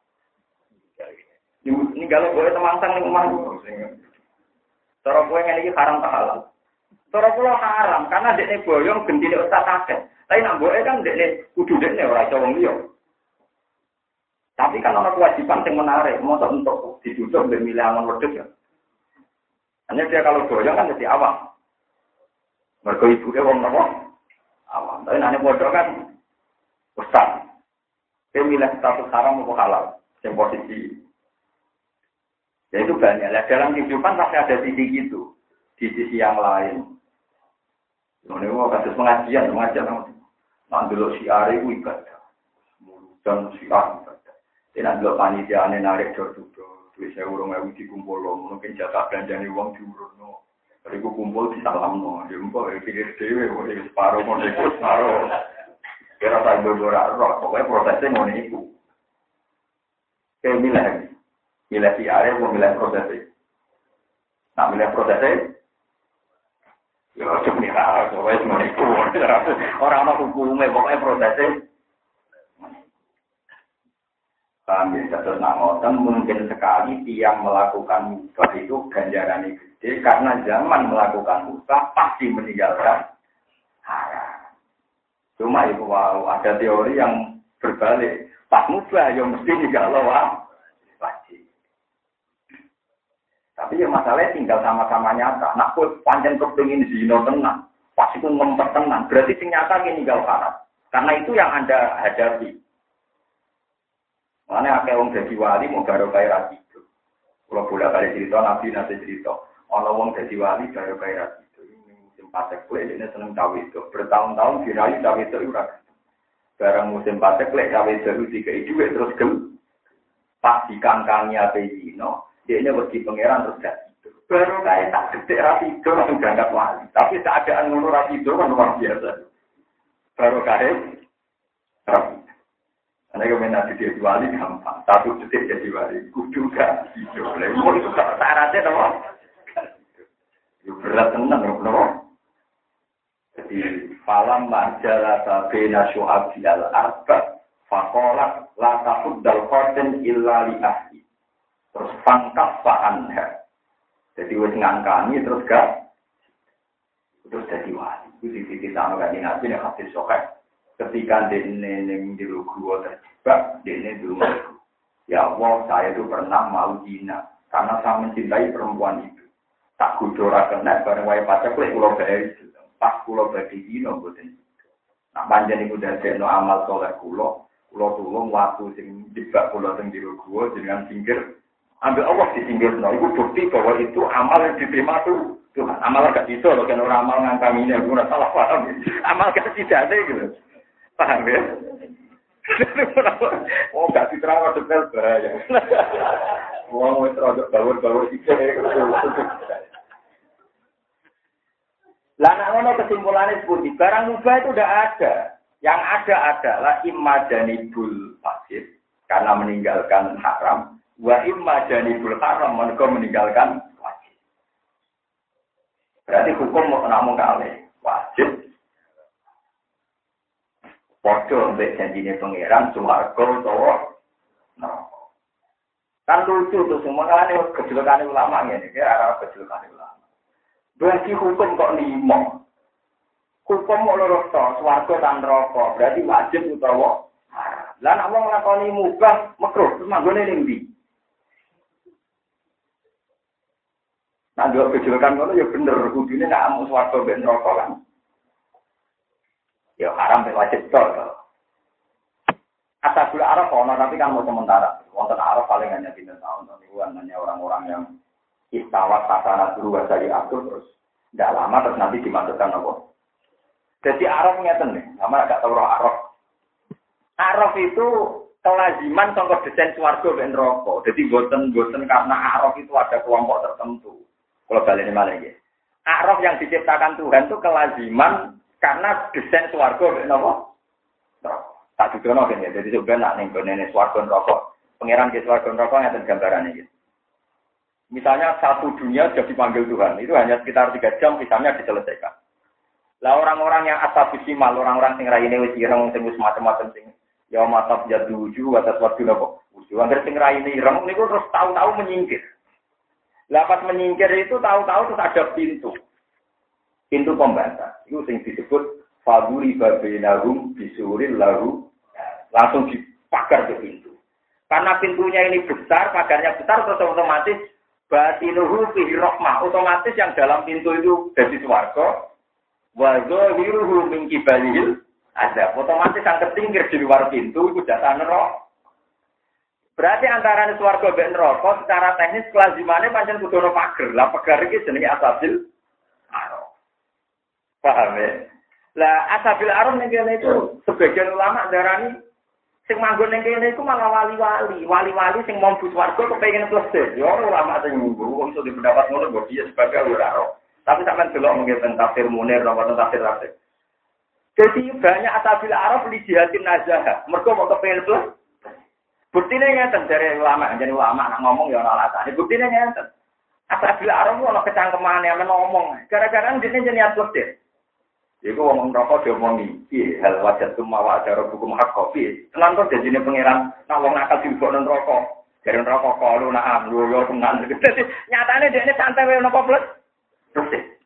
Ini kalau boleh temangsang ning omah cara kowe ngene iki haram ta halal. Cara kula haram karena dekne boyong gendine ustaz akeh. Tapi nak mboke kan dekne kudu dekne ora iso wong liya. Tapi kan ana kewajiban sing menarik, mosok untuk ditutup mbek milih angon wedhus ya. Hanya dia kalau boyong kan mesti awam. Mergo ibuke wong napa? Awam. Tapi nek bodoh kan ustaz. Dia milih status haram atau halal, yang posisi. Ya itu banyak. Nah, dalam kehidupan pasti ada sisi gitu. Di sisi yang lain. Ini mau kasus pengajian. Nanti lo siar itu ibadah. Dan siar ibadah. Nanti lo panitiaannya narik dor-dor. Duit saya urung-urung dikumpul lo. Mungkin jatah belanjani uang diurut lo. Kalau aku kumpul di salam lo. Ya mbak, pikir dewe. Separuh, mau ikut separuh. Kira tak berbora roh. Pokoknya prosesnya mau itu. Kayak milih si area, mau milih prosesnya. Nah, milih prosesnya, ya sebenarnya, pokoknya semua itu. Orang-orang hukumnya, pokoknya prosesnya. Kami terus nangotan, mungkin sekali tiang melakukan mubah itu ganjarannya gede, karena zaman melakukan mubah pasti meninggalkan haram. Cuma itu wow, ada teori yang berbalik. Pas mubah, ya mesti ninggal wajib. Tapi ya masalahnya tinggal sama-sama nyata. Nak kok pancen kepengin zina tenang, pas itu ngempet tenang, berarti sing nyata ki ninggal haram. Karena itu yang Anda hadapi. Makanya akeh wong dadi wali mau karo kaya ra itu. Kalau bolak-balik cerita Nabi nanti cerita, ana wong dadi wali karo kaya ra itu. Musim patek lek dene seneng cawe itu. Bertahun-tahun dirayu cawe itu ora. Barang musim patek lek cawe itu dikai dhuwit terus gem. Pas dikangkangi ape zina. Dia ini bagi pangeran terus gak tidur. Baru kayak tak gede rasi itu langsung berangkat wali. Tapi keadaan ngono rasi itu kan luar biasa. Baru kayak rasi. Karena kombinasi dia wali gampang. Satu detik jadi wali. Kudu gak tidur. Mau itu syaratnya apa? Itu berat tenang. Jadi falam majalah sabena syu'abi al-arba. Fakolak la tahuddal qadin illa li ahli. Terus pangkat fa'anha. Jadi wis ngangkani terus gak. Terus jadi wali. Itu di sisi sama kaji nabi yang hadis sokeh. Ketika dene yang di gua terjebak, dene dulu. Ya Allah, saya itu pernah mau zina. Karena saya mencintai perempuan itu. Tak kudora kena, bareng waya pacak, lek pulau bahaya itu. Pas pulau bahaya zina, buatan. Nah, panjang itu dari amal soleh pulau tulung waktu sing jebak pulau sing di gua, dengan pinggir. Ambil Allah di pinggir, itu bukti bahwa itu amal yang diterima tuh. Tuhan, amal gak bisa, loh, kan orang amal ngangkaminya, gue salah paham. Amal gak tidak ada, gitu. Paham ya? Oh, gak diterima, detail bahaya. Wong wis rada bawur-bawur iki. Lah nek ngono kesimpulannya seperti barang mubah itu udah ada. Yang ada adalah immajanibul fasid karena meninggalkan haram. Wa imma janibul haram mereka meninggalkan wajib. Berarti hukum mau namun kali wajib. Podo mbek janjine pangeran swarga utawa neraka. Kan lucu tuh semua kan kejelekan ulama ngene iki arah kejelekan ulama. Berarti hukum kok limo. Hukum mau loro to swarga dan neraka. Berarti wajib utawa haram. Lah nek wong nglakoni mubah makruh terus manggone ning ndi? Nah, dua kejelekan kalau ya bener, kudune nak amu swarga ben neraka kan. Ya haram ben wajib to. Asabul Arab ono tapi kan mau sementara. Wonten Arab paling hanya 3 tahun niku hanya orang-orang yang istawat tasana dulu dari atur terus tidak lama terus nanti dimasukkan apa. Jadi Arab ngeten nih, sama agak tahu Arab. Arab itu kelaziman sangka desain swarga ben neraka. Dadi boten karena a'raf itu ada kelompok tertentu. Kalau balene malah iki. A'raf yang diciptakan Tuhan itu kelaziman karena desain swarga ben napa? Neraka. Tak dudono kan ya. Jadi sebenarnya ning gone swarga neraka. Pangeran ke swarga neraka ngaten gambarane iki. Misalnya satu dunia sudah dipanggil Tuhan, itu hanya sekitar 3 jam misalnya diselesaikan. Lah orang-orang yang asabisimal, orang-orang sing raine wis ireng sing wis macam-macam sing ya matap jaduju atas waktu napa. Angger sing raine ireng niku terus tahu-tahu menyingkir. Lah pas menyingkir itu tahu-tahu terus ada pintu. Pintu pembatas. Itu sing disebut faduri babinahum bisuril lahu langsung dipagar ke pintu. Karena pintunya ini besar, pagarnya besar terus otomatis batinuhu fi rahmah, otomatis yang dalam pintu itu dari swarga. Wa zahiruhu min kibalil ada otomatis yang tertinggal di luar pintu itu data neraka. Berarti antara swarga dan neraka secara teknis kelazimannya pancen kudu ono pager. Lah pagar iki jenenge asabil araf. Paham ya? Lah asabil araf ning kene itu sebagian ulama darani sing manggon ning kene iku malah wali-wali. Wali-wali sing mau mlebu swarga kepengin plesir. Ya ulama sing ngunggu iso dipendapat ngono kok dia sebagai ora. Tapi sampean delok mungkin tentang tafsir Munir atau tentang tafsir Rasid. Jadi banyak asabil araf li jihatin nazah. Mergo mau kepengin plus. Buktine ngeten dari ulama, jadi ulama nak ngomong ya ora alasane. Buktine ngeten. Asabil araf ono kecangkemane men ngomong. Gara-gara dene jenenge plus deh. Iku wong neraka diomongi, piye hal wajat tumawa cara hukum hak kopi. Tenan kok janjine pangeran nak wong nakal dilebokno neraka. Jare neraka kalu nak amru yo tenan. Nyatane dekne santai wae napa plus. Terus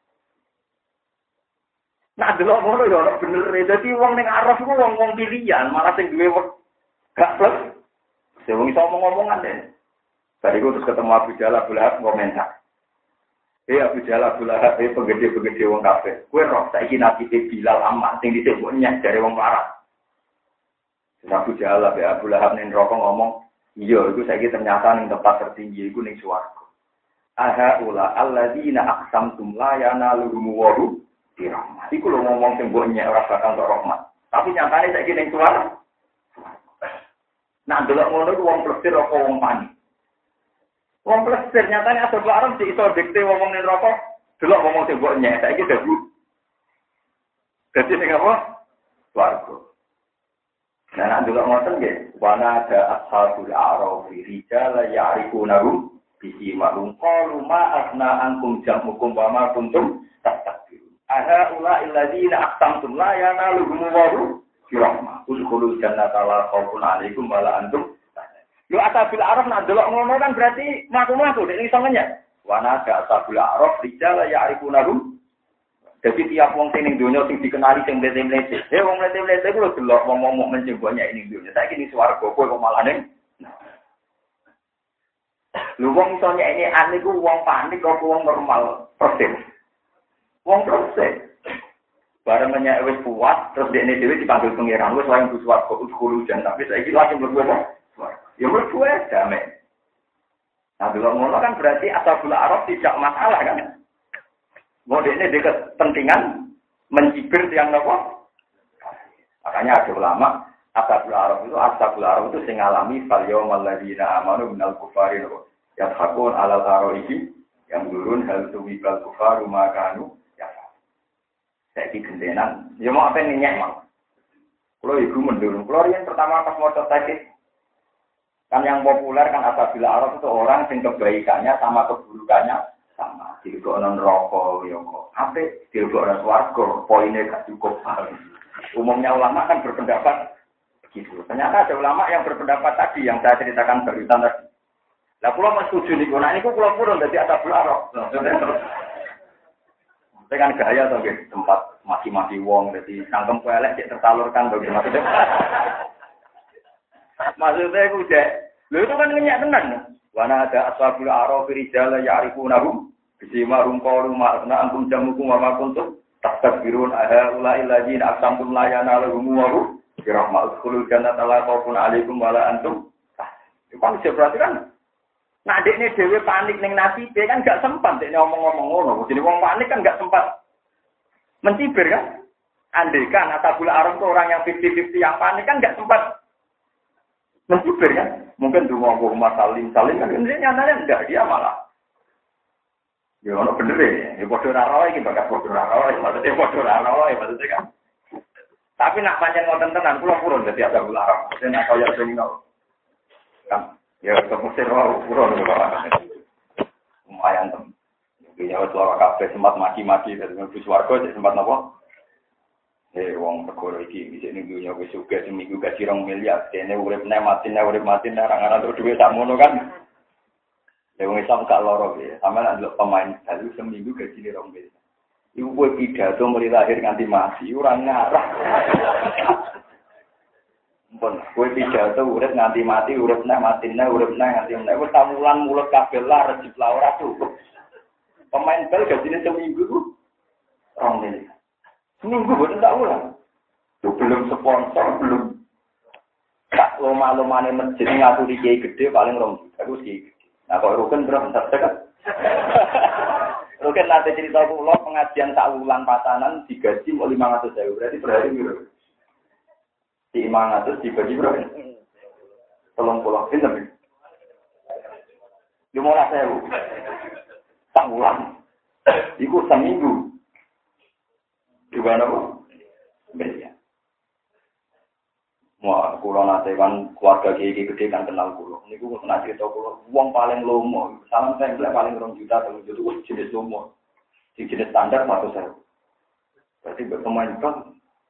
nah delok ngono ya ora bener. Dadi wong ning araf iku wong-wong pilihan, malah sing duwe gak plus. Sing wong iso ngomong-ngomongan deh. Bariku terus ketemu Abu Jalal Abdullah komentar. Abu Jalal Abdullah penggede-penggede wong kabeh. Kowe roh saiki nasibe Bilal Ammar sing disebut nyek jare wong larat. Abu Jalal Abu Lahab ning neraka ngomong, "Iya, iku saiki ternyata ning tempat tertinggi iku ning swarga." Aha ula alladzina aqsamtum la yanaluhum wa hum dirahmah. Iku lho ngomong sing mbok nyek ora bakal entuk rahmat. Tapi nyatane saiki ning swarga. Nah, delok ngono iku wong plesir apa wong panik. Wong plesir nyatane asal arep iso dikte wong ning neraka, delok ngomong sing mbok nyek saiki dadi. Dadi ning apa? Swarga. Nah, nek delok ngoten nggih, wana ada ashabul a'raf rijal ya'rifunahum bisi ma'lum qalu ma asna ankum jam'ukum wa ma kuntum tastakbirun. Aha ula illadzina aqsamtum la yanaluhum wa rahmah. Udkhulul jannata la khaufun 'alaikum wa la antum. Yo asabil araf nak delok ngono kan berarti maku-maku nek iso ngenyek. Wa nada asabil araf rijal ya'rifunahum. Jadi tiap wong sing ning donya sing dikenali sing mlete-mlete. Wong mlete-mlete ku lho delok wong-wong mukmin sing banyak ning donya. Saiki ning swarga kowe kok malah ning lu wong iso nyekne ane ku wong panik kok wong normal persis. Wong persis. Bareng menyek wis puas terus dekne dhewe dipanggil pangeran wis wayang buswat kok kudu jan tapi saiki langsung mlebu apa? Ya mlebu ae damai. Nah, delok ngono kan berarti ashabul araf tidak masalah kan? Mau dekne de kepentingan mencibir yang apa? Makanya ada ulama ashabul araf itu sing ngalami fal yaumal ladzina amanu minal kufari yathakun alal araiki yang turun hal tuwibal kufaru makanu ya. Saiki gendenan, ya mau apa nyek mau. Kalau ibu mendulung, kalau yang pertama pas mau tertarik kan yang populer kan ashabul araf itu orang yang kebaikannya sama keburukannya sama. Dilebokno neraka ya kok. Ape dilebokno swarga, poinnya gak cukup. Umumnya ulama kan berpendapat begitu. Ternyata ada ulama yang berpendapat tadi yang saya ceritakan barusan tadi. Lah kula mesti setuju niku. Nah niku kula purun dadi ashabul araf. Saya kan gaya to nggih, tempat maki-maki wong dadi sangkem elek cek tersalurkan to maksudnya. Maksudnya ku cek. Lho itu kan ngenyak tenan. Wana ada ashabul araf rijal ya'rifunahum bisimarum qalu ma'na antum jamukum wa ma kuntum tastakbirun aha ulail ladzina aqsamtum la yanaluhum wa hum birahmatul khulul jannata la khaufun 'alaikum wa la antum. Itu kan berarti kan nah dekne dhewe panik ning nasibe kan gak sempat dekne ngomong-ngomong ngono. Jadi wong panik kan gak sempat mencibir kan. Andai kan ashabul araf itu orang yang 50-50 yang panik kan gak sempat Menjubir kan? Mungkin dulu mau salim kan? Ini nyatanya enggak, dia malah. Ya ono bener ya padha ora roe iki bakal padha ora roe, maksudnya padha ora roe, maksudnya kan. Tapi nak pancen ngoten tenan kula purun dadi ada ular. Mesti nak kaya sing kan. Ya kepusir wae purun kok. Lumayan tem. Ya wis ora kabeh sempat maki-maki dadi mlebu swarga cek sempat napa? Wong perkara iki bisa ning dunya wis sugih seminggu gaji 2 miliar, dene urip mati ora terus duwe sak mono kan. Ya wong Islam gak loro ya. Sampe nek ndelok pemain bal seminggu gajine 2 miliar. Iku kowe pidato mulai lahir nganti mati ora ngarah. Pun kowe pidato urip nganti mati, urip nganti nganti wis tamulan mulut kabeh lah rejip la ora cukup. Pemain bal gajine seminggu 2 miliar. Seminggu boten tak ulang. Tuh belum sponsor, belum tak loma-lomane masjid ngaturi kiai gede paling 2 juta. Aku sih. Nah, kok Ruken berapa kan? Ruken nanti cerita kula pengajian sak wulan pasanan digaji mau 500.000. Berarti per hari piro? Di 500 dibagi berapa? 30 pinten? 15.000. Sak wulan. Iku seminggu. Gimana kok? Beda. Wah, kula nate kan keluarga kiai gede kan kenal kula. Niku kok nak cerita kula, wong paling lomo, salam template paling 2 juta 3 juta itu jenis lomo. Sing jenis standar 100.000. Berarti berpemain kan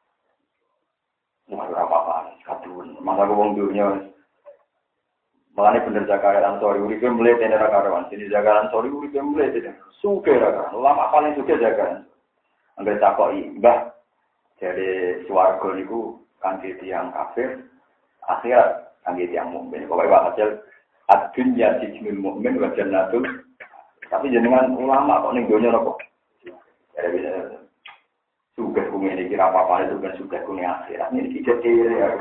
ora apa-apa, kadun. Mangga wong dunya Mulane bener Zakaria Ansori uripe mlete nek karawan. Sini Zakaria Ansori uripe mlete. Suke ra kan. Ulama paling suke Zakaria. Angger takoki, "Mbah, jare swarga niku kangge tiyang kafir, akhirat kangge tiyang mukmin." Pokoke hasil ad-dunya sijnul mukmin wa jannatul. Tapi jenengan ulama kok ning donya kok. Jare suke kuwi iki kira apa-apa itu kan suke kuwi akhirat. Ini kecil ya.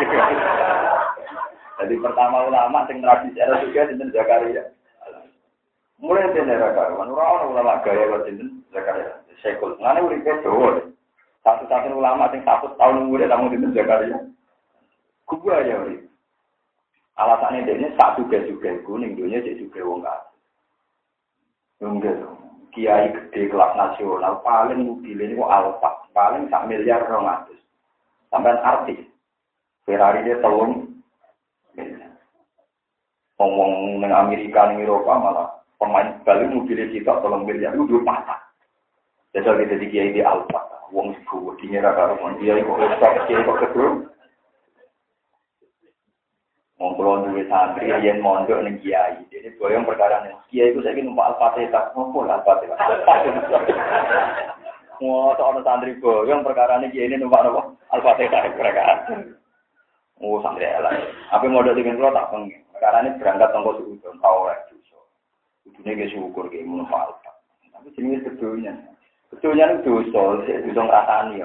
Jadi pertama ulama sing tradisi ada juga sinten Zakaria. Mulai dari Zakaria, orang ulama gaya kok sinten Zakaria. Sekul, ngene uripe dawa. Satu-satu ulama sing 100 tahun umure tamu sinten Zakaria. Gua ya uri. Alasane dene sak juga ning dunya cek juga wong kafir. Enggak, kiai gede kelas nasional paling mobilnya itu Alfa, paling 1 miliar 200. Sampai artis Ferrari dia telung. Ngomong dengan Amerika, dengan Eropa malah pemain balik mobilnya kita 3 miliar itu 2 patah. Jadi kita di kiai di Alfa, wong sebuah di neraka rumah dia itu kiai kok kedua. Ngomong dulu santri yang mondok nih kiai, jadi boyong perkara nih kiai itu saya ingin numpak Al-Fatihah, ngomong Al-Fatihah. Mau seorang santri boyong perkara nih kiai ini numpak apa? Al-Fatihah perkara. Oh santri lah. Apa modal dengan lo tak pengen. Perkara ini berangkat tongkol suudon, tahu lah justru. Ujungnya ke syukur ke munafal. Tapi sini sebetulnya itu dosa, dosa ngerasani ya.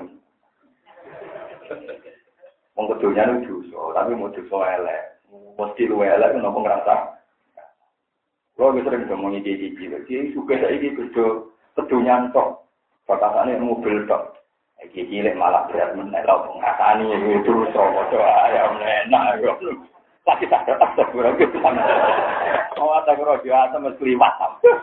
Mau kedulnya itu dosa, tapi mau dosa elek. Mesti lu elek, kenapa ngerasa? Kalau kita sering ngomongin dia suka saya ini kedulnya tok. Batasannya mobil tok. Iki cilik malah berat menek lho ngasani itu dosa ayam enak yo. Lagi tak berapa gitu sama. Oh tak kira dia mesti liwat.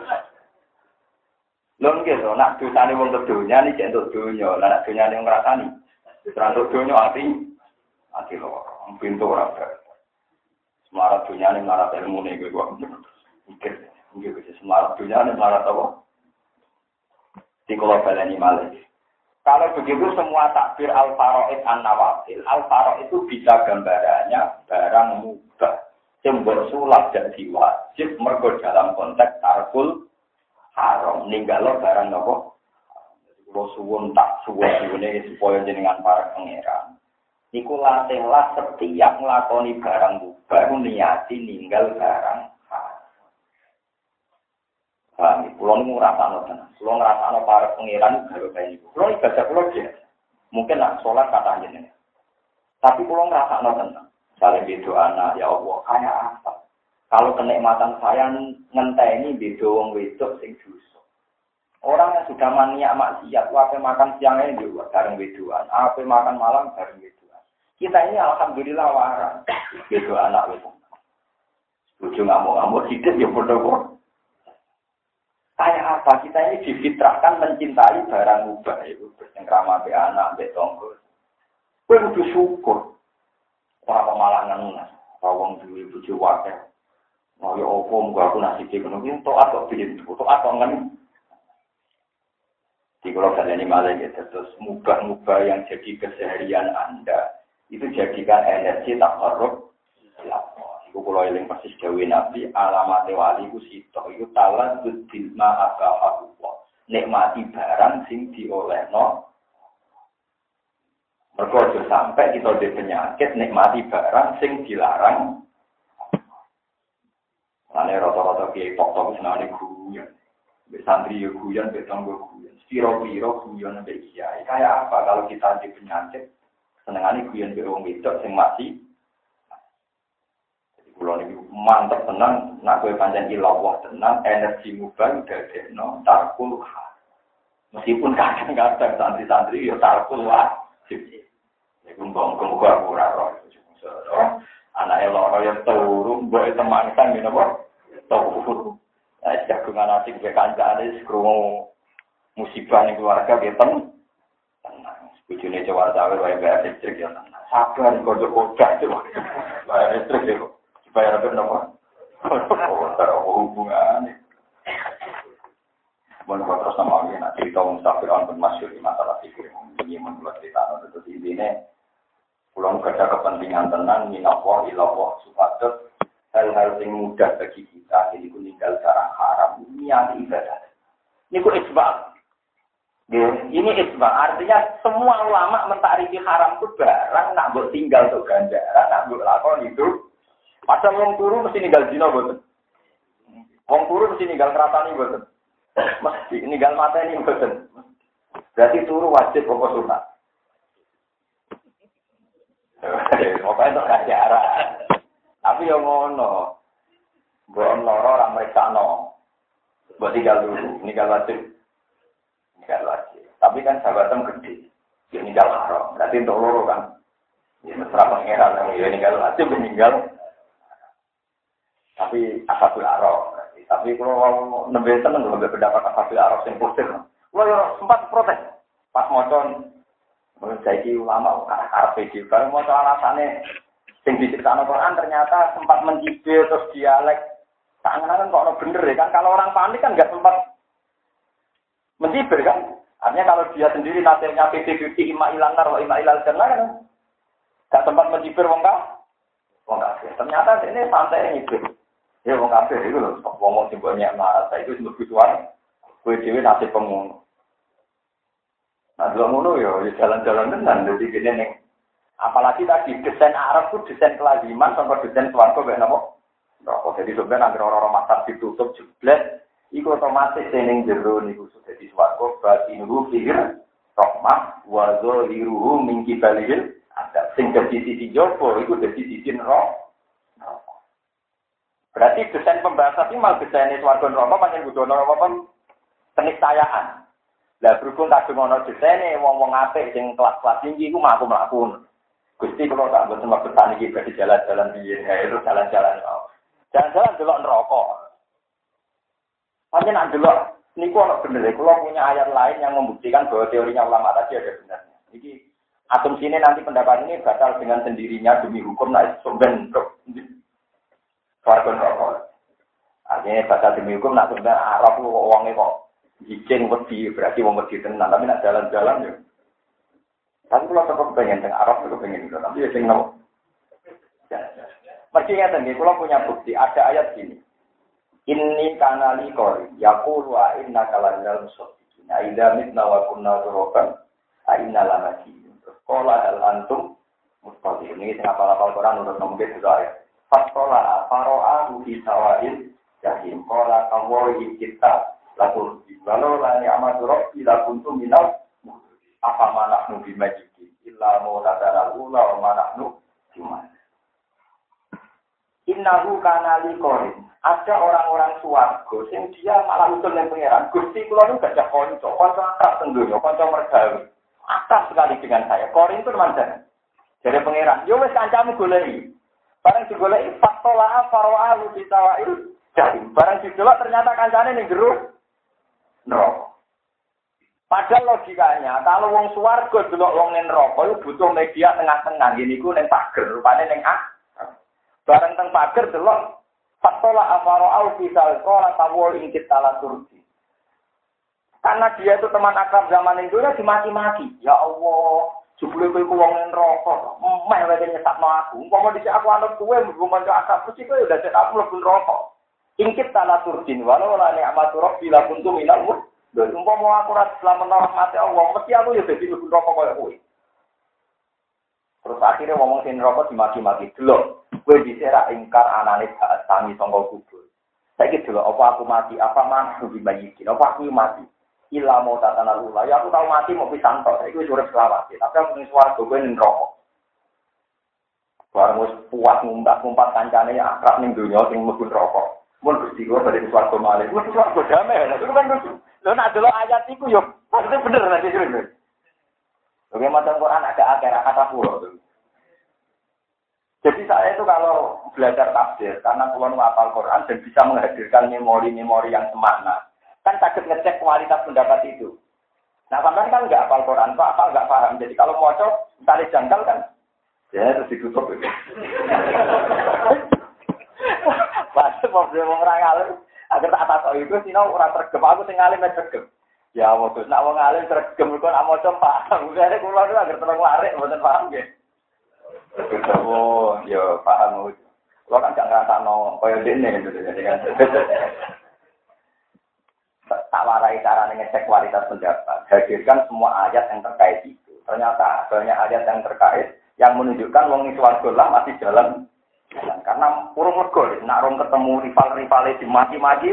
Lho nggih to nak dosane wong kedunya iki entuk donya, lah nak donyane ngrasani. Terus donya ati lho, pintu ora ber. Semarat donyane marat ilmune kuwi kok. Mikir, nggih wis semarat donyane marat apa? Dikola baleni malih. Kalau begitu semua takbir al-faraid an-nawafil. Al-faraid itu bisa gambarannya barang mubah. Yang sulap dan wajib mergo dalam konteks tarkul haram. Ninggalo barang nopo. Kalau suwun tak suwun-suwune supaya jenengan para pangeran. Niku latihlah setiap nglakoni barang mubah niati ninggal barang pulau ini ngerasano tenan. Pulau ngerasano para pangeran baru kayak itu. Pulau ibadah pulau dia. Mungkin nak sholat kata aja nih. Tapi pulau ngerasano tenan. Saling berdoa anak ya Allah kayak apa? Kalau kenikmatan saya ngenteni beda wong wedok sing dosa. Orang yang sudah maniak maksiat, wae makan siangnya juga bareng wedoan, ape makan malam bareng wedoan. Kita ini alhamdulillah waras. Gitu anak itu. Bojo ngamuk-ngamuk hidup ya bodoh. Kayak apa? Kita ini difitrahkan mencintai barang mubah itu. Bercengkrama be anak, be tonggo. Kowe kudu syukur. Ora pemalangan nang. Wong duwe bojo wakil. Mau ya opo muga aku nasibe ngono ki tok atau biyen tok atau ngen. Di kalau kalian ini malah gitu, terus mubah-mubah yang jadi keseharian Anda itu jadikan energi tak korup. Iku kalau yang persis Dewi Nabi alamat wali ku sitok itu talan bilma akafakullah nikmati barang sing diolehno. Mergo aja sampai kita di penyakit nikmati barang sing dilarang. Ane rata-rata kiai tok-tok senane guyon. Mbek santri yo guyon, mbek tanggo guyon. Piro-piro guyon mbek kiai. Kayak apa kalau kita di penyakit senengane guyon mbek wong wedok sing mati. Jadi kula niki mantep tenan nek kowe pancen ilawah tenan energi mubah dadekno tarkul. Meskipun kadang-kadang santri-santri yo tarkul wajib. Iku mbong-mbong ora ora. Anake loro yo turu mbok teman kan ngene apa? Turu. Jagungan asik ke kancane krungu musibah ning keluarga ge tenang. Bojone cewek cawe wae bayar listrik ya tenang. Sabar kocok-kocok itu. Bayar listrik itu. Bayar apa napa? Hubungan. Bon terus sama lagi nak cerita mustafir on masyhur masalah fikih ini menurut cerita itu intinya pulang kerja kepentingan tenang minallah ilallah supados hal-hal yang mudah bagi kita ini meninggal cara haram niat ibadah ini ku isbah ini isbah artinya semua ulama mentarifi haram itu barang nak buat tinggal untuk ganjaran nak buat lakon itu padahal wong turu mesti ninggal zina boten wong turu mesti ninggal keratani boten mesti ninggal mata ini boten berarti turu wajib apa sunat. Pokoknya untuk ganjaran. Tapi yang ngono, buat loro orang mereka no, buat tinggal dulu, tinggal wajib. Tapi kan sahabatnya gede, dia tinggal haram. Berarti untuk loro kan, ya mesra pangeran, dia tinggal wajib, meninggal. Tapi asabul arok. Tapi kalau nembe tenang, kalau berpendapat asabul arok yang positif, kalau sempat protes, pas mocon. Menjadi ulama arah PD. Kalau mau alasannya sing diceritakan Quran ternyata sempat mencibir terus dialek. Tangan kok ono bener ya kan kalau orang panik kan nggak sempat mencibir kan. Artinya kalau dia sendiri nasibnya PD ima ilanar wa ima ilal jannah kan nggak sempat mencibir wong kafir. Ternyata ini santai ngibir. Ya wong kafir itu loh. Wong simbolnya marah itu sebut visual. Kue dewi nasib pengun. Nah, dua ngono ya jalan-jalan tenan dadi kene ning apalagi tadi desain Arab itu desain kelaziman sampai desain swarga mek napa? Nah, jadi sebenarnya anggar orang masak ditutup jeblet iku otomatis ning jero niku sudah di swarga batinuhu fihir rahmah wa zahiruhu min kibalil ada sing dadi sisi jopo iku dadi sisi neraka. Berarti desain pembahasan ini mal desain swarga neraka pancen kudu ana apa keniscayaan. Lah berhubung kadung ana desene wong-wong apik sing kelas-kelas tinggi iku mlaku-mlaku. Gusti kula tak mboten maksud iki badhe jalan-jalan piye, itu jalan-jalan. Jalan-jalan delok neraka. Pancen delok niku ana bener, kula punya ayat lain yang membuktikan bahwa teorinya ulama tadi ada benarnya. Iki asumsine nanti pendapat ini batal dengan sendirinya demi hukum nek sumben swarga neraka. Artinya batal demi hukum nek sumben Arab kok wonge kok izin wedi berarti wong wedi tenan tapi nak jalan-jalan yo. Tapi kalau tetap pengen teng Arab itu pengen itu tapi ya sing nopo. Mesti ngeten nggih kula punya bukti ada ayat gini. Inni kanali qori yaqulu wa inna kalal musaddiqin. Aida mitna wa kunna turaban aina lamati. Qala hal antum mustaqim. Ini sing apal-apal Quran urut nomor 2 ayat. Faqala faro'ahu fi sawa'il jahim. Qala kawai kita lalu walau la ni'matu rabbi la kuntum minal apa manahnu bimajiki illa mu'tadara ula wa manahnu cuman innahu kana liqorin ada orang-orang swarga sing dia malah utul ning pangeran Gusti kula nu gak kanca akrab teng donya kanca mergawe akrab sekali dengan saya korin itu mandan Jadi pangeran, yo wis kancamu goleki. Bareng digoleki fatola farwa lu ditawail. Jadi bareng didelok ternyata kancane ning jero neraka. Padahal logikanya, kalau wong swarga delok wong ning neraka iku butuh media tengah-tengah. Ngene iku ning pager, rupane ning bareng teng pager delok fatola farwa fi salqala tawul ingkit tala turdi. Karena dia itu teman akrab zaman itu ya dimaki-maki. Ya Allah, jebule kowe ku wong neraka. Meh wae nyesakno aku. Umpama dhisik aku anut kowe mlebu manca akrab mesti kowe udah cek aku mlebu neraka. Ingkit tanah turdin walau la ni'matu rabbi la kuntu minal mudhil. Umpama aku ora selamat rahmate Allah, mesti aku ya dadi mlebu neraka koyo kowe. Terus akhirnya ngomong sing neraka dimaki-maki. Delok, kowe dhisik ra ingkar anane saat tangi sangka kubur. Saiki delok apa aku mati, apa manhu dibayikin, apa aku mati. Ila mau tatana lula, ya aku tahu mati mau pisang tok, itu urip selawase. Tapi aku ning swarga kowe ning neraka. Bareng wis puas ngumpat kancane akrab ning donya sing mlebu neraka. Mun Gusti kula bali swarga malih. Wis swarga damai. Itu kan lho nek delok ayat iku yo pasti bener nek iki. Oke, macam Quran ada akhirat kata pulau. Jadi saya itu kalau belajar tafsir, karena pulau hafal Quran dan bisa menghadirkan memori-memori yang semakna. Kan takut ngecek kualitas pendapat itu. Nah, sampean kan nggak hafal Quran, Pak, apa nggak paham. Jadi kalau mau cocok, tarik jangkal kan, ya terus ditutup itu. Pas problem orang alim, agar tak atas itu, sih orang tergem, aku tinggalin tergem. Ya, waktu nak orang alim tergem, kau nak mau coba, bukannya kulo itu agar terang lari, bukan paham ya. Oh, ya paham. Kulo kan jangan ngerasa koyo dene gitu, jadi kan. Tak warai cara ngecek kualitas pendapat. Hadirkan semua ayat yang terkait itu. Ternyata banyak ayat yang terkait yang menunjukkan wong ning swarga lah masih jalan. Karena urung mergo nek rong ketemu rival-rivale dimaki-maki.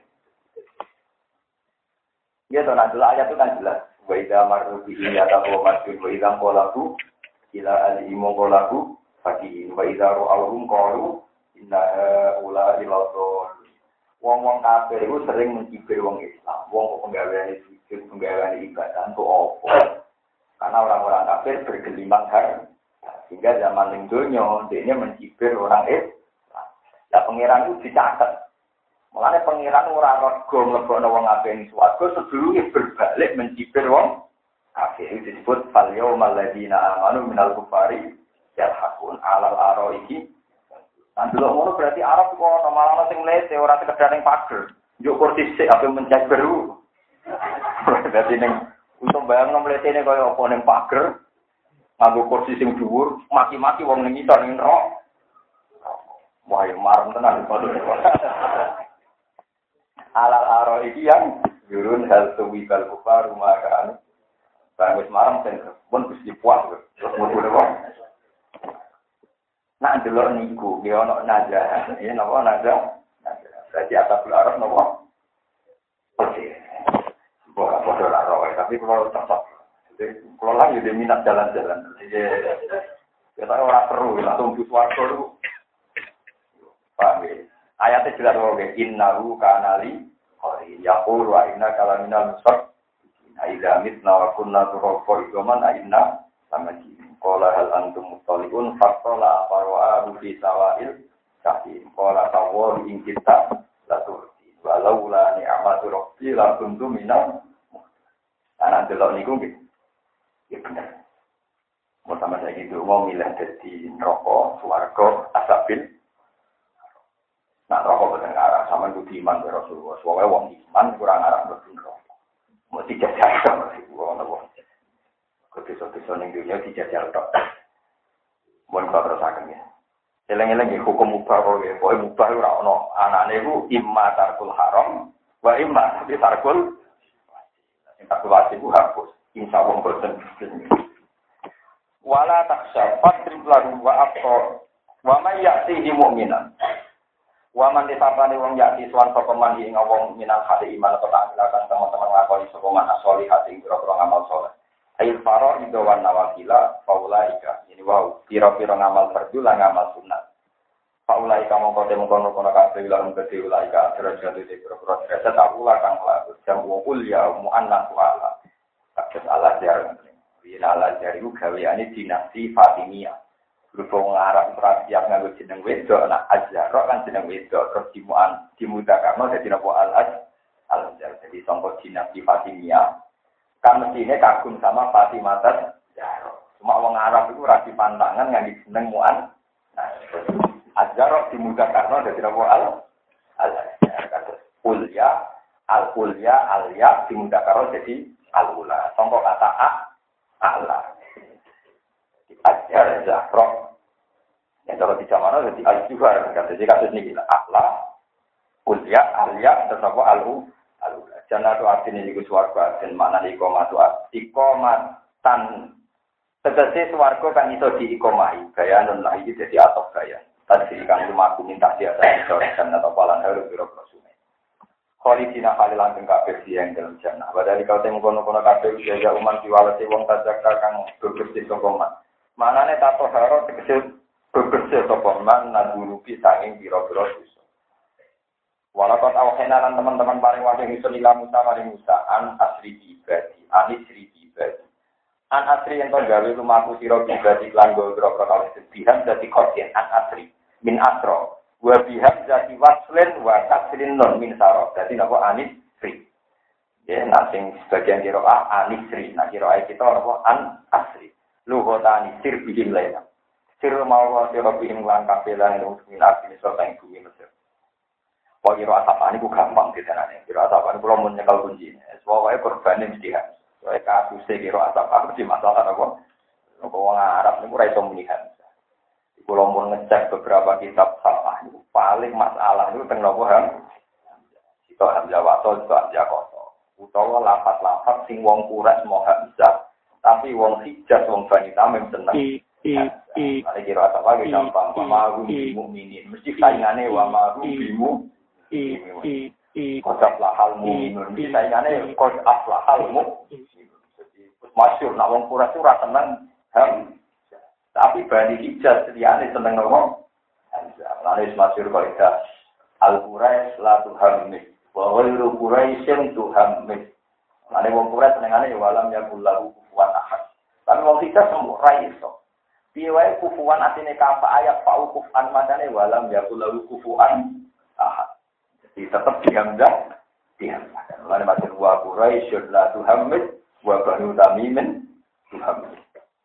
Ya to nah ayat itu kan jelas. Wa idza marru bi yatahu masjid wa idza qalaku ila al-imu qalaku faqih wa idza ra'awhum qalu inna ula ilatul. Wong-wong kafir itu sering mencibir wong Islam. Wong penggaweane sujud, penggaweane ibadah untuk apa? Karena orang-orang kafir bergelimang harta. Sehingga zaman ning donya dia mencibir orang Islam. Lah pangeran itu dicatat. Mulane pangeran ora rego mlebokno wong kafir ning swarga sebelumnya berbalik mencibir wong kafir. Itu disebut fal yaumal ladzina amanu minal kufari yalhaqun alal araiki. Nah, dulu ngono berarti Arab kok malah sing mlete ora sekedar ning pager. Njuk kursi sik ape mencet beru. Berarti ning untuk bayangno mletene kaya apa ning pager. Nganggo kursi sing dhuwur, maki-maki wong ning ngisor ning neraka. Wah, marem tenan kok. Alal aro iki yang yurun hal tuwi kal kufar makan. Bang wis marem ten pun wis dipuas terus mlebu neraka. Nak delok niku, dia ono naga, ini nopo naga, berarti atas belarang nopo, oke, bukan bodoh lah roy, tapi kalau tetap, kalau lagi dia minat jalan-jalan, jadi kita orang seru, langsung butuh dulu, paham ya? Ayatnya jelas roy, innahu kanali, yaqul wa inna kalaminal musab, aida mitna wa kunna turoko idoman aina sama ji. Qala hal antum mutaliun faqala farwa fi sawail kahim qala tawwa in kita la turti walau la ni'matu rabbi la kuntu minal ana delok niku nggih ya bener mau sama saya gitu mau milih dadi neraka swarga asabil nak neraka boten arah sama kudu iman karo Rasulullah soalnya wong iman kurang arah mlebu neraka mesti jajal sama sih wong Kepisah-pisah yang dunia dijajal tok. Mohon kalau terusakan ya. Eleng-eleng hukum mubah kok ya. Pokoknya mubah itu ada. Anaknya itu imma tarkul haram. Wa imma tapi tarkul. Yang tarkul wajib itu hapus. Insya Allah bosan. Wala taksya fadrib lahu wa abqa. Wa man ya'tihi mu'minan. Wa man disapani wong ya'ti suwan sokoman ing wong minal hati iman atau tak silakan teman-teman ngakoni sokoman asoli hati ing kira-kira ngamal soleh. Ail faro idawan nawakila faulaika ini wow pira-pira ngamal fardu lan ngamal sunat faulaika mongko temono kono kabeh lan gede ulaika derajat iki pira-pira derajat awula kang laku jam ul ya muannas wala kabeh Allah jarang yen Allah jari gaweane dinasti Fatimiyah Berhubung Arab siap nganggo jeneng wedok, nak Azharo kan jeneng wedok, terus dimudakarno dadi napa Al-Azhar. Jadi sangka dinasti Fatimiyah. Kan mestine kagum sama Fatimah Zahra. Cuma wong Arab itu ra dipantangan nganggo jeneng Mu'an. Nah, Azharo dimudakarno dadi napa Al-Azhar. Kados Ulya, Al-Ulya, Al-Ya dimudakarno dadi Al-Ula. Sangka kata A'la. Azhar Zahra. Yang kalau di zaman itu di Al-Juhar, jadi kasus ini A'la, Ulya, Alya, terus apa Al-Ula. Jannah itu artinya itu suarga, dan makna iqomah itu iqomatan. Tegesi suarga kan itu diiqomahi, gaya non lagi jadi atau gaya. Tadi kan cuma aku minta dia dari Jannah atau palan harus biro-biro sungai. Khalidina khalilan teng kabeh yang dalam jannah. Padahal kau temu kono-kono kabeh ya uman diwalesi wong tajaka kang bebersih sokoman. Manane tato haro tegese bebersih sokoman nadurupi sanging biro-biro dosa. Walaupun awhena dan teman-teman paling wajib itu nila Musa maring Musa an asri ibadi, anisri ibadi. An asri yang gawe lumaku sira ibadi lan gondro kali sedihan dadi kodien an asri min asro. Wa biham zati waslin wa tasrin non min saro. Dadi napa anisri. Ya nasing sebagian kira anisri, nah kira kita napa an asri. Luhota anisir bihim lain. Sir mau sira bihim lan kapelan min asri sing bumi Mesir. Kalau kira asapan itu gampang ditanane. Kira asapan kalau mau nyekel kunci. Soalnya korbannya mesti kan. Soalnya kasusnya kira asapan mesti masalah apa? Kalau orang Arab ini kurang bisa melihat. Kalau mau ngecek beberapa kitab salah itu paling masalah itu tentang apa? Itu Hamzah Wato, itu Hamzah Koso. Utawa lapat-lapat sing wong kuras mau Hamzah. Tapi wong Hijaz, wong Bani Tamim seneng. Ada kira asapan gampang. Wamarum bimu'minin. Mesti saingannya wamarum bimu. Qad aflahal mu'minun. Saingane qad aflahal mu'minun. Jadi masyhur nak wong Quraisy ora seneng tapi Bani Hijaz liyane seneng nopo? Lalu masyhur kaidah Al-Quraisy la tuhammid wa ghairu Quraisyin tuhammid. Lalu wong Quraisy senengane ya walam yakul lahu kufuwan ahad. Tapi wong Hijaz semua ra iso. Piye wae kufuwan atine kafa ayat fa'u kufan madane walam yakul lahu kufuwan ahad. Tetap dihamzah. Lalu masih wa Quraisyun la tuhammid wa Banu Tamimin tuhammid.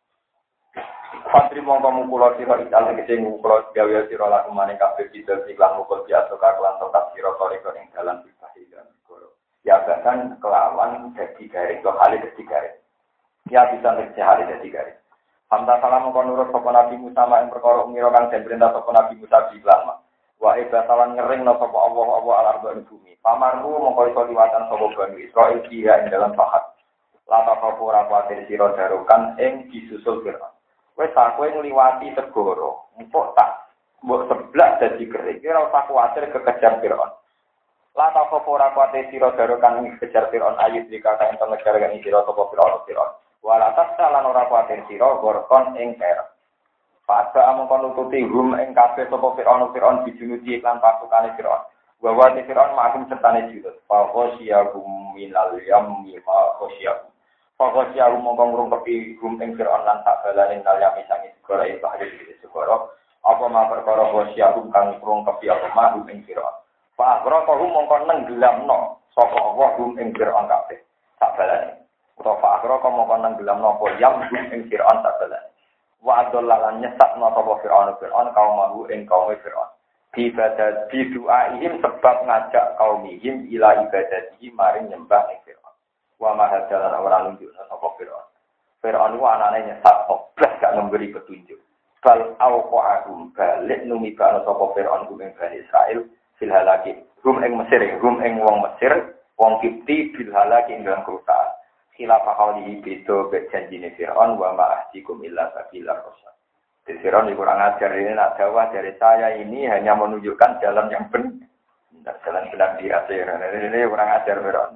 Fadri mongko mukula sira ical tegese mukula gawe sira laku maning kabeh bidal iklan mukul biasa kakelan tetap sira toriko ing dalan bibahih dan goro. Ya bahkan kelawan dadi garing to hale dadi garing. Ya bisa nek hale dadi garing. Hamda salam kon nurut sapa Nabi Musa ing perkara ngira kang den perintah sapa Nabi Musa iklan. Wa ibatalan ngering no sapa Allah alarba ing bumi. Pamarku mongko iso liwatan sapa Bani Israil dia ing dalam pahat. Lata kapura kuatir sira darukan ing disusul Fir'aun. Wis aku ngliwati segara, empuk tak mbok seblak dadi kering. Ora usah kuwatir kekejar Fir'aun. Lata kapura kuatir sira darukan ing kejar Fir'aun ayat dikata enten negara kang sira sapa Fir'aun. Wala tasalan ora kuatir sira gorkon ing kerep. Pada among nututi hum ing kabeh sapa Fir'aun dijunuti iklan pasukane Fir'aun. Wa wa Fir'aun makum sertane jilid. Fa khosyahum minal yammi ma khosyahum. Fa khosyahum mongko ngrungkepi hum ing Fir'aun lan tak balane nal yami sangi segara ing bahari iki segara. Apa ma perkara khosyahum kang ngrungkepi apa ma hum ing Fir'aun. Fa aghraqahum mongko nenggelamno sapa Allah hum ing Fir'aun kabeh. Tak balane. Utawa fa aghraqahum mongko nenggelamno apa yam hum ing Fir'aun tak balane. Wa adallalan nyesatna sapa Fir'aun kaum mahu ing kaum Fir'aun. Ibadat bidu'aihim sebab ngajak kaumihim ila ibadatihi maring nyembah ing Fir'aun. Wa mahadalan ora nunjukna sapa Fir'aun. Fir'aun ku anane nyesat oblas gak memberi petunjuk. Bal auqa'ahum balik numibana sapa Fir'aun ku ing Bani Israil fil halaki. Rum ing Mesir, rum ing wong Mesir, wong Kipti bil halaki ing dalam kerusakan. Khilafah qawlihi beda janjine Fir'aun wa ma'ahdikum illa sabilar rasul. Di Fir'aun kurang ajar ini nak dakwah dari saya ini hanya menunjukkan jalan yang benar, jalan benar di akhir. Ini kurang ajar Fir'aun.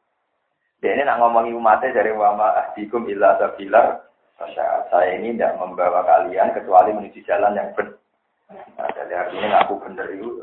Dia ini nak ngomongi umatnya dari wa ma'ahdikum illa sabilar rasul. Saya ini tidak membawa kalian kecuali menuju jalan yang benar. Nah, jadi artinya aku benar itu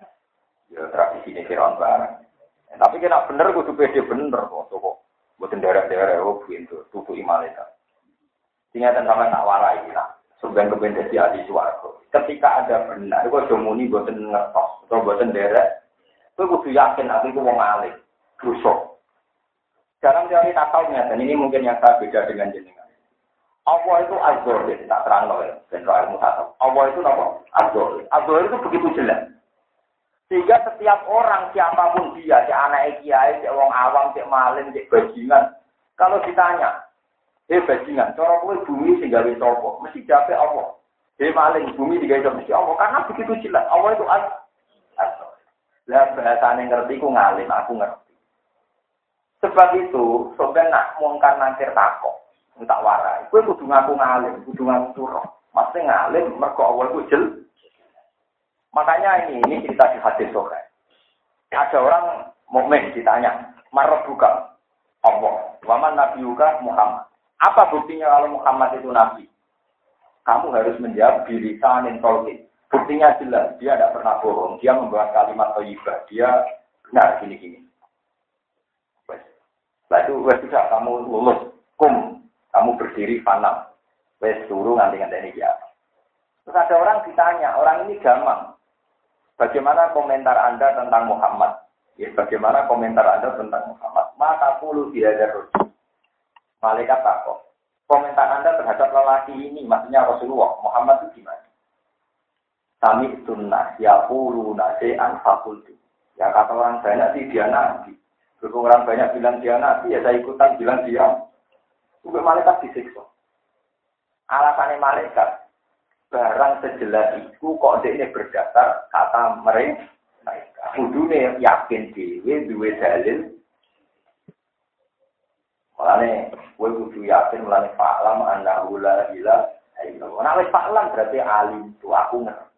ya tradisi ini Fir'aun barang. Tapi kena benar kudu pede bener kok. Bukan daerah-daerah pintu tutup imalita. Tinggal sama nak warai lah. Sebenarnya kebenci ahli swarga. Ketika ada benar, kok domuni boten ngertos atau boten derek, kowe kudu yakin aku iku wong alim, dosa. Dalam teori takalnya, dan ini mungkin yang saya beda dengan jenengan. Allah itu azhar, tak terang loh ya, general ilmu tasawuf. Allah itu apa? Azhar. Azhar itu begitu jelas. Sehingga setiap orang, siapapun dia, si anak kiai, si wong awam, si maling, si bajingan, kalau ditanya, bajingan, cara kowe bumi sing gawe sapa? Mesti jape Allah. Maling bumi digawe mesti Allah, karena begitu jelas. Allah itu azhar. Lah bahasane ngerti ku ngalim, aku ngerti. Sebab itu, sampeyan nak mungkar nangkir takok, tak warai. Kowe kudu ngaku ngalim, kudu ngaku turu. Mesti ngalim mergo Allah itu jelas. Makanya ini cerita di hadis sore. Ada orang mukmin ditanya, "Marab buka Allah, waman nabiyuka Muhammad." Apa buktinya kalau Muhammad itu nabi? Kamu harus menjawab bilisanin tauhid. Buktinya jelas, dia tidak pernah bohong, dia membawa kalimat thayyibah, dia benar gini-gini. Lalu sudah kamu lulus, kamu berdiri fanam. Suruh nganti-nganti ini ya. Terus ada orang ditanya, orang ini gampang. Bagaimana komentar Anda tentang Muhammad? Ya, bagaimana komentar Anda tentang Muhammad? Maka puluh tidak ada. Malaikat takut. Komentar Anda terhadap lelaki ini, maksudnya Rasulullah, Muhammad itu gimana? Sami sunnah, ya puluh nase'an fakultu. Ya kata orang banyak sih dia nabi. Berhubung orang banyak bilang dia nabi, ya saya ikutan bilang dia. Sampai malaikat disiksa. Alasannya malaikat. Barang sejelas itu kok ini berdasar kata mereka. Kudune yakin dhewe duwe dalil. Mulane kowe kudu yakin mulane fa'lam annahu la ilaha illallah. Nek wis fa'lam berarti alim tu aku ngerti.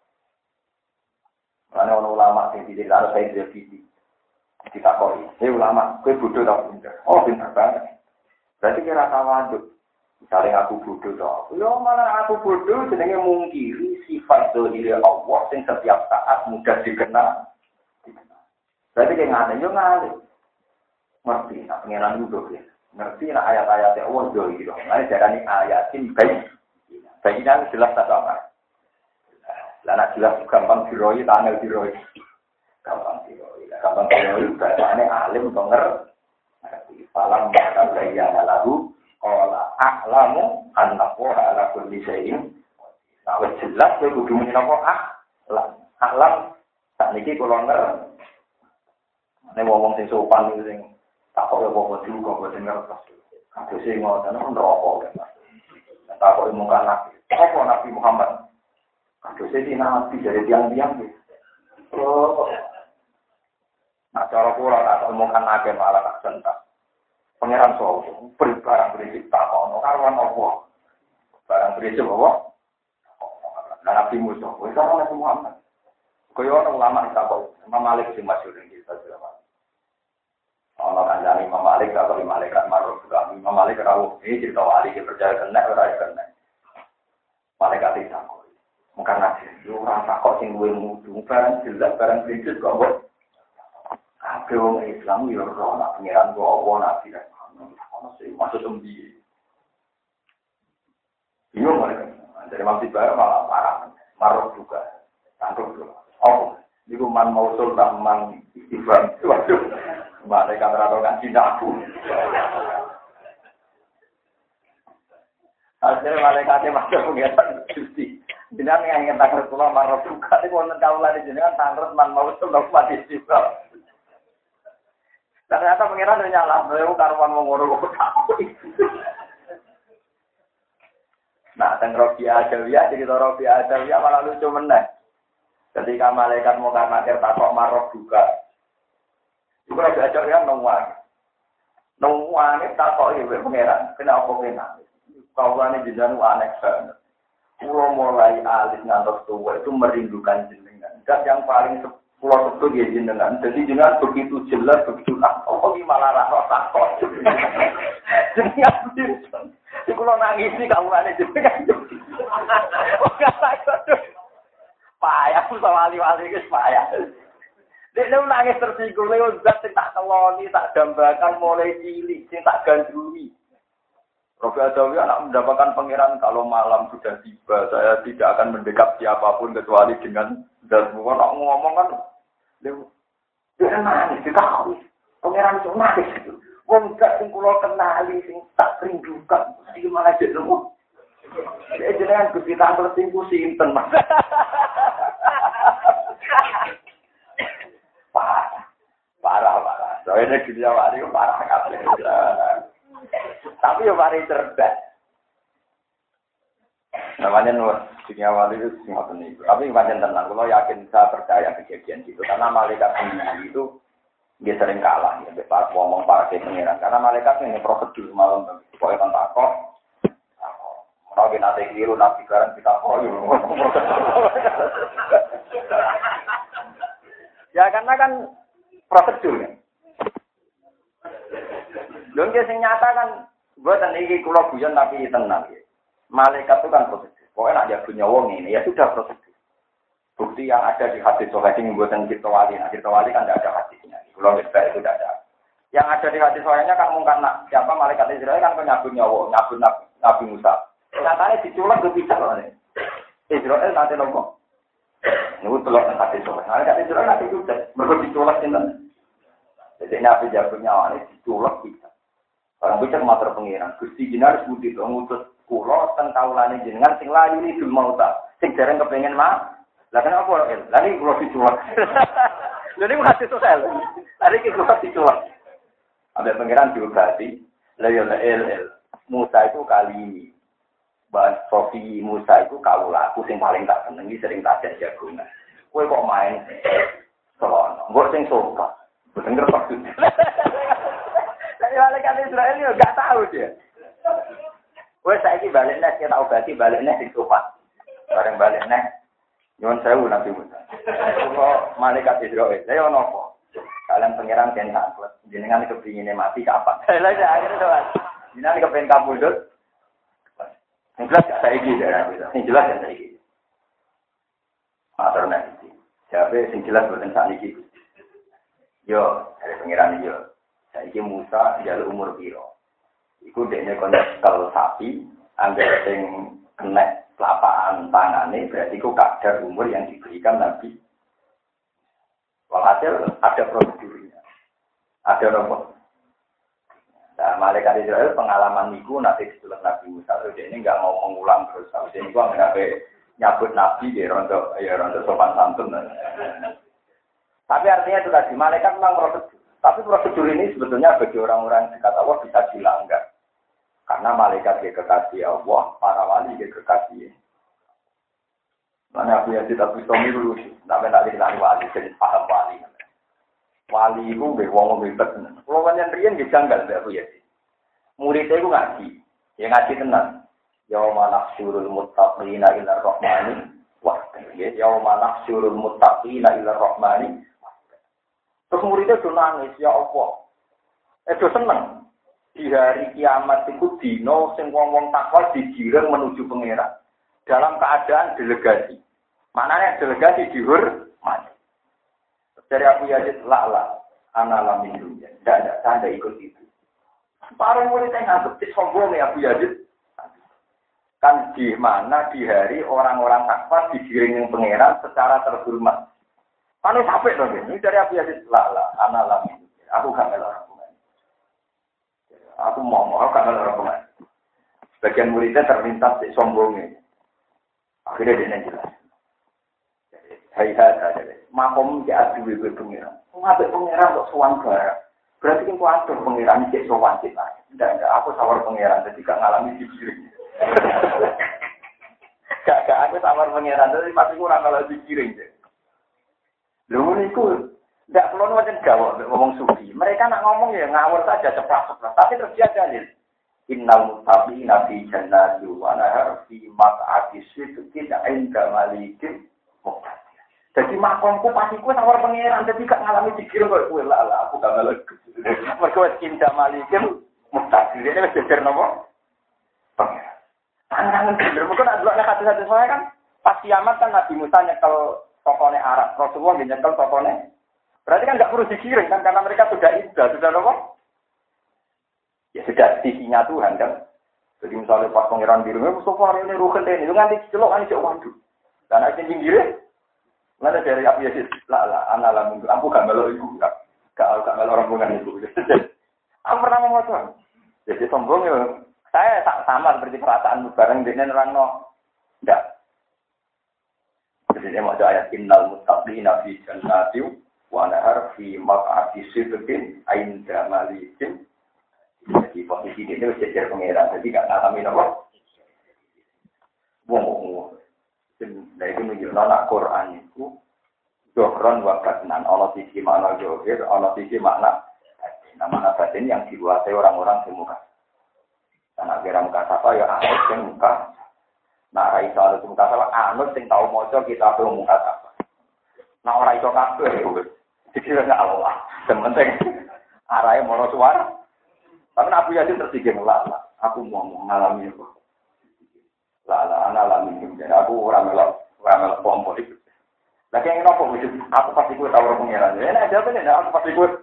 Mulane ono ulama sing diceritakno saya dhewe ditakoni. Ulama, kowe bodoh ta pinter? Oh, pinter banget. Berarti kira tawaduk. Misalnya aku bodoh toh, yo malah aku bodoh jenenge mungkiri sifat dzahir Allah sing setiap saat mudah dikenal. Berarti dia ngane yo ngane. Ngerti nak pengenan duduk ya. Ngerti nak ayat-ayat Allah dzahir. Mane darani ayatin baik. Bayinan jelas tak apa. Lah nak jelas gampang diroi, tanggal diroi. Gampang diroi. Gampang diroi bahasane alim to ngerti. Falam maka bayyana lahu qala a'lamu annahu ala kulli syai'in. Nah, wis jelas kowe kudu muni napa a'lam. Sakniki kula ngerti. Nek wong sing sopan niku sing takok apa dulu kok boten ngertos. Kabeh sing ngoten neraka kan. Takok mungkar nabi. Apa Nabi Muhammad? Kabeh sing nabi dari tiang-tiang iki. Oh. Nah, cara kula tak mungkar nabi malah tak sentak. Pangeran Sowo, barang berisik tak ono karuan apa? Barang berisik apa? Nabi Musa, wis ora Nabi Muhammad. Kaya ana ulama takok, Imam Malik sing masyhur ing kita ulama. Ana kanjane Imam Malik karo malaikat maruf kami. Imam Malik rawuh iki cerita wali iki percaya kena ora kena. Malaikat iki takok. Mungkin nabi, yo ora takok sing duwe mudu, barang jelas barang berisik kok kok. Kabeh wong Islam yo ora ana pangeran kok apa nabi kan. Ono sing maksud umbi. Yo mereka. Dari masjid baru malah parah. Marah juga. Tangkap dulu. Oh, niku man mausul man istighfar. Waduh. Mereka meratakan cinta aku. Akhirnya malaikatnya masuk pengiatan justi. Jangan yang tangkap Rasulullah marah juga. Ini wonten kaulah di jenengan tangkap man mausul man istighfar. Ternyata pengiran udah nyala, beliau karuan mengurus kamu. Nah, tentang Robiah Adawiyah, cerita Robiah Adawiyah malah lucu meneh. Ketika malaikat mau nakir takok marok juga. Itu Robiah Adawiyah nungguan. Nungguan ini takok ibu pengiran. Kenapa pengiran? Kaulah ini jenengan aneh banget. Pulau mulai alis ngantos tua itu merindukan jenengan. Dan yang paling pulau itu dia jenengan. Jadi jenengan begitu jelas, begitu oh ini malah rasa takut. Jenengan begitu. Di pulau nangis ini kamu ada jenengan. Oh gak takut. Payah sama wali-wali itu payah. Dia nangis tersinggung. Lewat zat yang tak keloni, tak dambakan mulai cilik, yang tak gandrungi. Rabi Adawi anak mendapatkan pangeran kalau malam sudah tiba, saya tidak akan mendekat siapapun kecuali dengan dan bukan ngomong kan, dia nangis, dia tahu pangeran itu nangis itu. Wong gak sing kula kenali sing tak rindukan, iki malah jenengmu. Dia jenengan Gusti Tampil sing ku sinten, Mas. Parah. Soalnya dunia wali itu parah kabeh. Tapi yo mari cerdas. Namanya dunia wali itu semua ini. Tapi pancen tenang, kalau yakin saya percaya kejadian itu karena malaikat sendiri itu dia sering kalah ya, Pak ngomong para pengiran. Karena malaikat ini prosedur malam, pokoknya kan takut. Kalau kita nanti keliru, nabi sekarang kita ya karena kan prosedur ya. Don sing nyata kan, buatan ini kulo guyon tapi tenang ya. Malaikat itu kan prosedur. Pokoknya nak jago nyawong ini ya sudah prosedur. Bukti yang ada di hadis Sahih ini buatan kita wali. Nah, kita wali kan tidak ada hadisnya. Kalau kita itu tidak ada. Yang ada di hadis Sahihnya kan mungkin siapa malaikat Israel kan penyabut nyawa, nyabut Nabi Musa. Nyatanya diculak berpisah loh nih. Israel nanti lombok. Ini telur hadis Sahih. Malaikat Israel nanti juga mereka diculak ini. Jadi Nabi jabut nyawa ini diculak bisa. Orang bisa mater pengiran. Gusti Jinar sebut itu ngutus kulo tentang taulane jenengan sing layu ini dul mauta. Sing jarang kepengen mah. Lah kenapa el? Lah iki kula diculak. Lha niku hadis sosial. Lah iki kula diculak. Ada pangeran diobati, la ya el. Musa itu kali ini. Bahas Sofi Musa itu kaula aku sing paling tak senengi sering tak jagungan. Kowe kok main selon. Mbok sing sopan. Bener maksud. Tapi malaikat Israel yo gak tahu dia. Kowe saiki balik nek kita obati balik nek sing sopan. Bareng balik nek Nyuwun sewu Nabi Musa. Kok malaikat Israil, saya ono apa? Kalian pangeran kan takut. Jenengan kepingine mati kapan? Lah ya akhirnya doan. Jenengan kepengin kabudut. Sing jelas saiki ya. Sing jelas ya saiki. Matur nek. Jabe sing jelas boten sakniki. Yo, dari pangeran yo. Saiki Musa njaluk umur piro? Iku dekne kon kalau sapi angger sing kena lapaan tangannya berarti itu kadar umur yang diberikan Nabi. Walhasil ada prosedurnya, ada nomor. Nah, malaikat Israel pengalaman niku nanti setelah Nabi Musa jadi ini nggak mau mengulang terus. Jadi ini gua nggak nyabut Nabi di rontok sopan santun. Tapi artinya itu tadi malaikat memang prosedur. Tapi prosedur ini sebetulnya bagi orang-orang dekat Allah bisa dilanggar. Karena malaikat dia kekasih Allah, para wali dia kekasih. Mana aku yang tidak bisa dulu sih, tapi tak diketahui wali, jadi paham wali. Wali itu wong ribet. Kalau banyak rian dia janggal aku ya sih. Muridnya itu ngaji, ya ngaji tenang. Yauma nahsyurul muttaqina ila rahmani wa yauma nahsyurul muttaqina ila rahmani. Terus muridnya tuh nangis, ya Allah. Itu seneng. Di hari kiamat itu dino sing wong-wong takwa digiring menuju pangeran dalam keadaan delegasi. Maknanya delegasi dihormati. Dari Abu Yazid la'la ana min dunya. Tidak ada ikut itu. Para muridnya nganggep sombong ya Abu Yazid. Kan di mana di hari orang-orang takwa digiring pangeran secara terhormat. Kan sampai dong ini dari Abu Yazid la'la ana min dunya. Aku gak melok. Aku mau karena orang sebagian muridnya terlintas di sombongnya. Akhirnya dia jelas. Hai saja. Makom di adu ibu pengiran. Mengambil pengiran kok sowan barang. Berarti kan kuatur pengiran cek sowan kita. Tidak. Aku sawar pengiran jadi gak ngalami dikiring. Gak aku sawar pengiran jadi pasti kurang kalau dikiring. Lu niku. Tidak perlu macam gawat ngomong sufi. Mereka nak ngomong ya ngawur saja cepat. Tapi terus dia dalil. Innal muttaqina fi jannatin wa nahar fi maq'adi sidqin 'inda malikin muqtadir. Jadi makomku pasti ku sawar pangeran dadi gak ngalami dikira kok kowe lah aku gak ngalami. Mergo wis inda malikin muqtadir. Ini wis jejer napa? Pangeran. Pangeran bener mergo nak delok hadis-hadis saya kan pas kiamat kan Nabi Musa nyekel tokone Arab. Rasulullah nyekel tokone. Berarti kan nggak perlu dikirim kan karena mereka sudah indah, sudah apa? Ya sudah sisinya Tuhan kan. Jadi misalnya pas pangeran biru, Mustafa ini rugen deh, itu nganti celok kan cek waduh. Dan akhirnya pinggirnya, mana dari apa ya sih? Lah, anak lah minggu, aku gak melok ibu, gak melok rombongan ibu. Aku pernah ngomong tuh, jadi sombong ya. Saya sama seperti perasaan bareng dengan orang no, enggak. Jadi dia mau ayat innal muttaqina fi jannatin wa nahar fi maq'adi sidqin 'inda malikin. Jadi posisi ini wis jejer pangeran, jadi gak ngalami napa. Wong. Dari itu menunjukkan anak Quran itu dohron wa batnan, ana sisi makna zahir, ana sisi makna nama batin yang dikuasai orang-orang di muka. Karena kira muka sapa ya anut sing muka. Nah ora iso anut muka sapa anut sing tau maca kitab muka sapa. Nah ora iso kabeh wis. Dikira Allah. Sing penting arahe mono suara. Tapi Abu Yasin tersikir lah. Aku mau mengalami itu. Lah anak alami jadi aku ora melok pompo itu. Lah kene nopo wis aku pasti kuwi tau ora pengeran. Ya nek jawab nek aku pasti kuwi.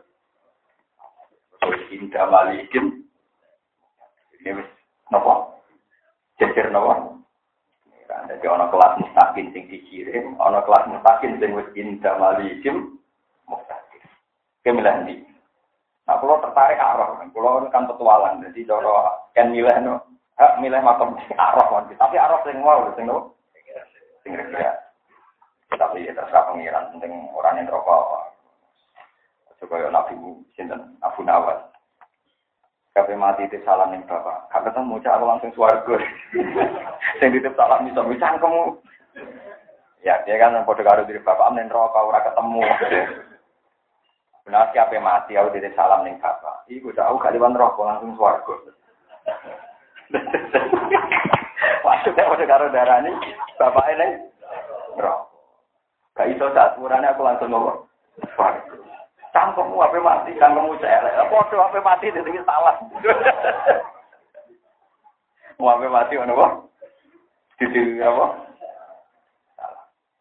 Indah malikin. Ini wis napa? Jejer napa? Kan dadi ana kelas mustaqim sing dikirim, ana kelas mustaqim sing wis indah malikin mustaqim. Kemilah iki. Nah, kalau tertarik arah, kalau kan petualang, jadi cara kan milih macam arah kan, tapi arah sing wow, sing no, sing kira. Tapi ya terserah pengiran, penting orang yang rokok. Coba ya Nabi sinten Abu Nawas. Kape mati itu salam ning bapak. Kape ketemu cak aku langsung swarga. Sing ditip salam iso misan kamu. Ya, dia kan padha karo diri bapak ning rokok ora ketemu. Benar siapa mati aku ditip salam ning bapak. Iku dak aku gak liwat rokok langsung swarga. Maksudnya padha karo darani bapak ning rokok. Gak iso sak urane aku langsung ngomong. Swarga. Cangkemmu apa mati, cangkemmu celek. Apa mati itu salah. Mau apa mati ono apa? Dadi apa? Salah.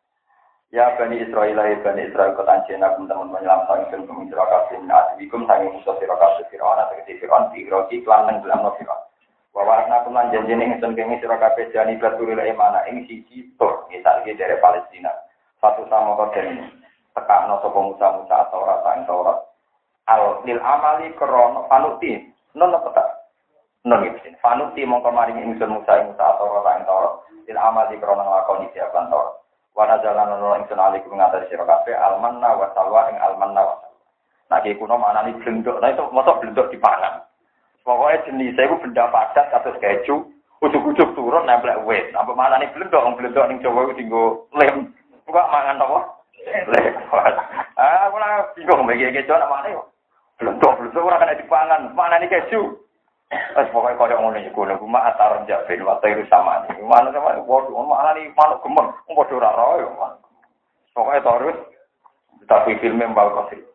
Ya Bani Israil, kota Jena teman-teman menyelamatan ingsun pemitra kabeh nasibikum sange musuh sira kabeh Firaun tegese Firaun diroki lan nang dalam Firaun. Wa warna kulan janjene ingsun kene sira kabeh jani baturil emana ing siji tur ngisake dari Palestina. Satu sama koden tekakno sapa Musa atau rasa ing Taurat. Al lil amali krono panuti. Non apa tak? Non iki. Panuti mongko maring ingsun Musa atau rasa ing Taurat. Lil amali krono nglakoni siapan Taurat. Wa nazalan ono ingsun alikum ngatasi sira kabeh almanna wa salwa ing almanna wa salwa. Nah iki kuno maknane blendok. Nah itu mosok blendok dipangan. Pokoke jenis iku benda padat kados keju, ujug-ujug turun nempel wit. Apa maknane blendok ning Jawa iku dienggo lem. Kok mangan apa? Lewat. Aku lah bingung bagi keju namanya. Belum ora kena dipangan. Mana nih keju? Wes pokoke koyo ngono iku lho cuma atar jaben wae iku sama. Mana sama padha mana nih manuk gemeng padha ora ro yo. Pokoke terus tapi filmnya mbak Kosi.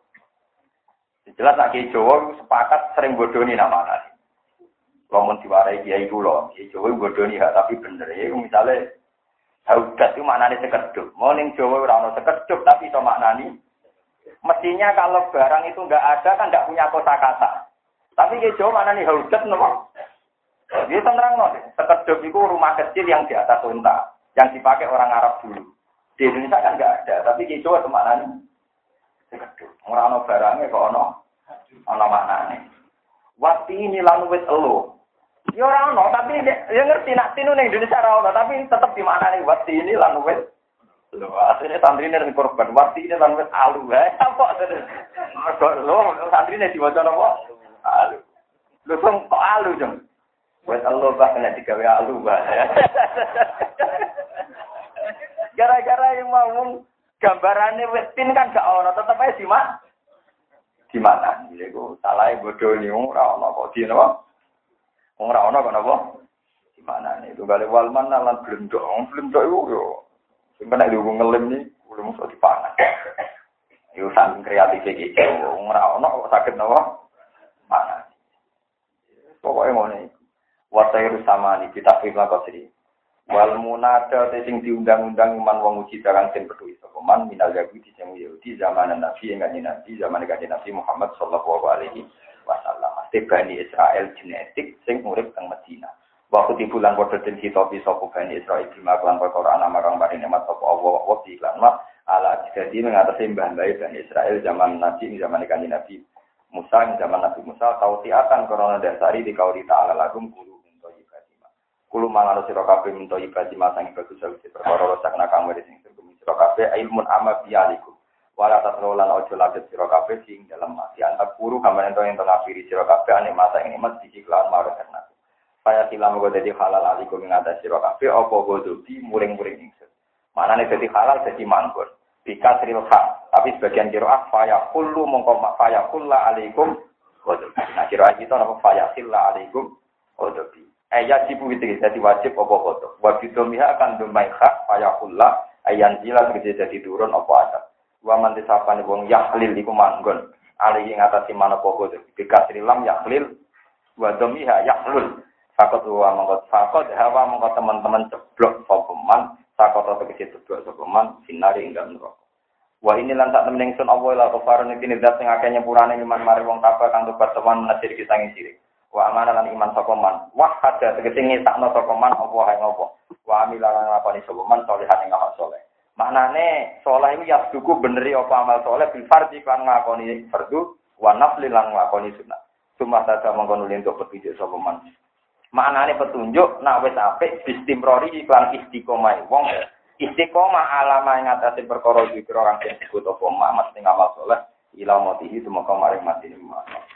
Jelas nak Jawa sepakat sering bodoni namanya. Lamun diwarai kiai kula, kiai Jawa bodoni hak tapi bener ya misale haudat itu maknanya sekedup. Mau ning Jawa ora ono sekedup tapi itu maknani. Mestinya kalau barang itu enggak ada kan enggak punya kosakata. Tapi ke Jawa maknani haudat nopo. Dia terang sekedup itu rumah kecil yang di atas unta yang dipakai orang Arab dulu. Di Indonesia kan enggak ada, tapi ke Jawa itu maknani sekedup. Ora ono barangnya kok ono maknane. Wati ini lan wis elo. Ya ora ono, tapi ya ngerti nak tinu ning Indonesia ora ono, tapi tetep di mana nih wati ini lan wis. Lho, asline santrine ning korban wati ini lan wis alu. Apa lho, santrine diwaca napa? Alu. Lho kok alu, Jeng? Wis Allah bah nek digawe alu bah. Gara-gara yang mau gambarane wis tin kan gak ono, tetep ae di mana? Iku salahe bodho ni ora ono kok di napa? Ora ono kok napa? Di mana nih? Itu gale walman lan blendok. Blendok iku yo sing kena diugo ngelem ni, kudu mesti dipangan. Yo saking kreatif iki ora ono kok saged napa? Mana? Pokoke ngene. Wasairu sama ni kita firman kosri. Wal munada sing diundang-undang iman wong uji darang sing peduli sapa man minal yahudi sing Yahudi zaman Nabi zaman Nabi Muhammad sallallahu alaihi wasallam. Bani Israel genetik sing urip teng Madinah. Waktu di bulan padha den hitopi sapa Bani Israil bima lan perkara ana marang maring nikmat sapa Allah wa lan ala jadi mengatasi mbah-mbah Bani Israil zaman Nabi Kanjeng Nabi Musa zaman Nabi Musa tautiatan karena dasari di kauli ta'ala lagum kulo minto ibadima kulo mangan sira kabeh minto ibadima sang bagus sawise perkara sakna kang wis sing sing sira kabeh ilmun amma bialikum wala tasrolan ojo ladet sira kabeh sing dalam mati antar guru gambaran ento ento ngafiri sira kabeh ane masa ing nikmat diklan marang karena saya silam go dadi halal alikum ing atas sira kabeh apa godobi muring-muring ingsun manane dadi halal dadi manggon bikasril haq tapi sebagian qiraah fa kullu mongko fa kulla alaikum godobi nah qiraah kita napa fa silla alaikum godobi ayat sibu iki dadi wajib apa godob wa bidomiha akan domai hak fa kulla ayan jila dadi turun apa adab wa man disapane wong yahlil iku manggon ali ing atase manapa godob bikasril lam yahlil wa domiha yahlul sakot wa mongko teman-teman ceblok sopeman sakot tegese ceblok sopeman sinari ing dalem neraka wa ini lan sak temen ingsun apa la kafarun iki ndak sing akeh nyepurane iman mari wong kafir kang tobat teman menasir kita ing sirik wa amana lan iman sopeman wah ada tegese ngesakno sopeman apa hae ngopo wa amila lan ngakoni sopeman salihan ing amal saleh maknane saleh iki ya duku beneri apa amal saleh bil fardhi kan ngakoni fardu wa nafli lan ngakoni sunat cuma saja mongko nuli untuk petunjuk sopeman maknane petunjuk nak wis apik istimrori iklan istiqomah wong istiqomah alama ing atase perkara iki kira kang disebut apa mak mesti ngamal saleh ila mati itu maka maring mati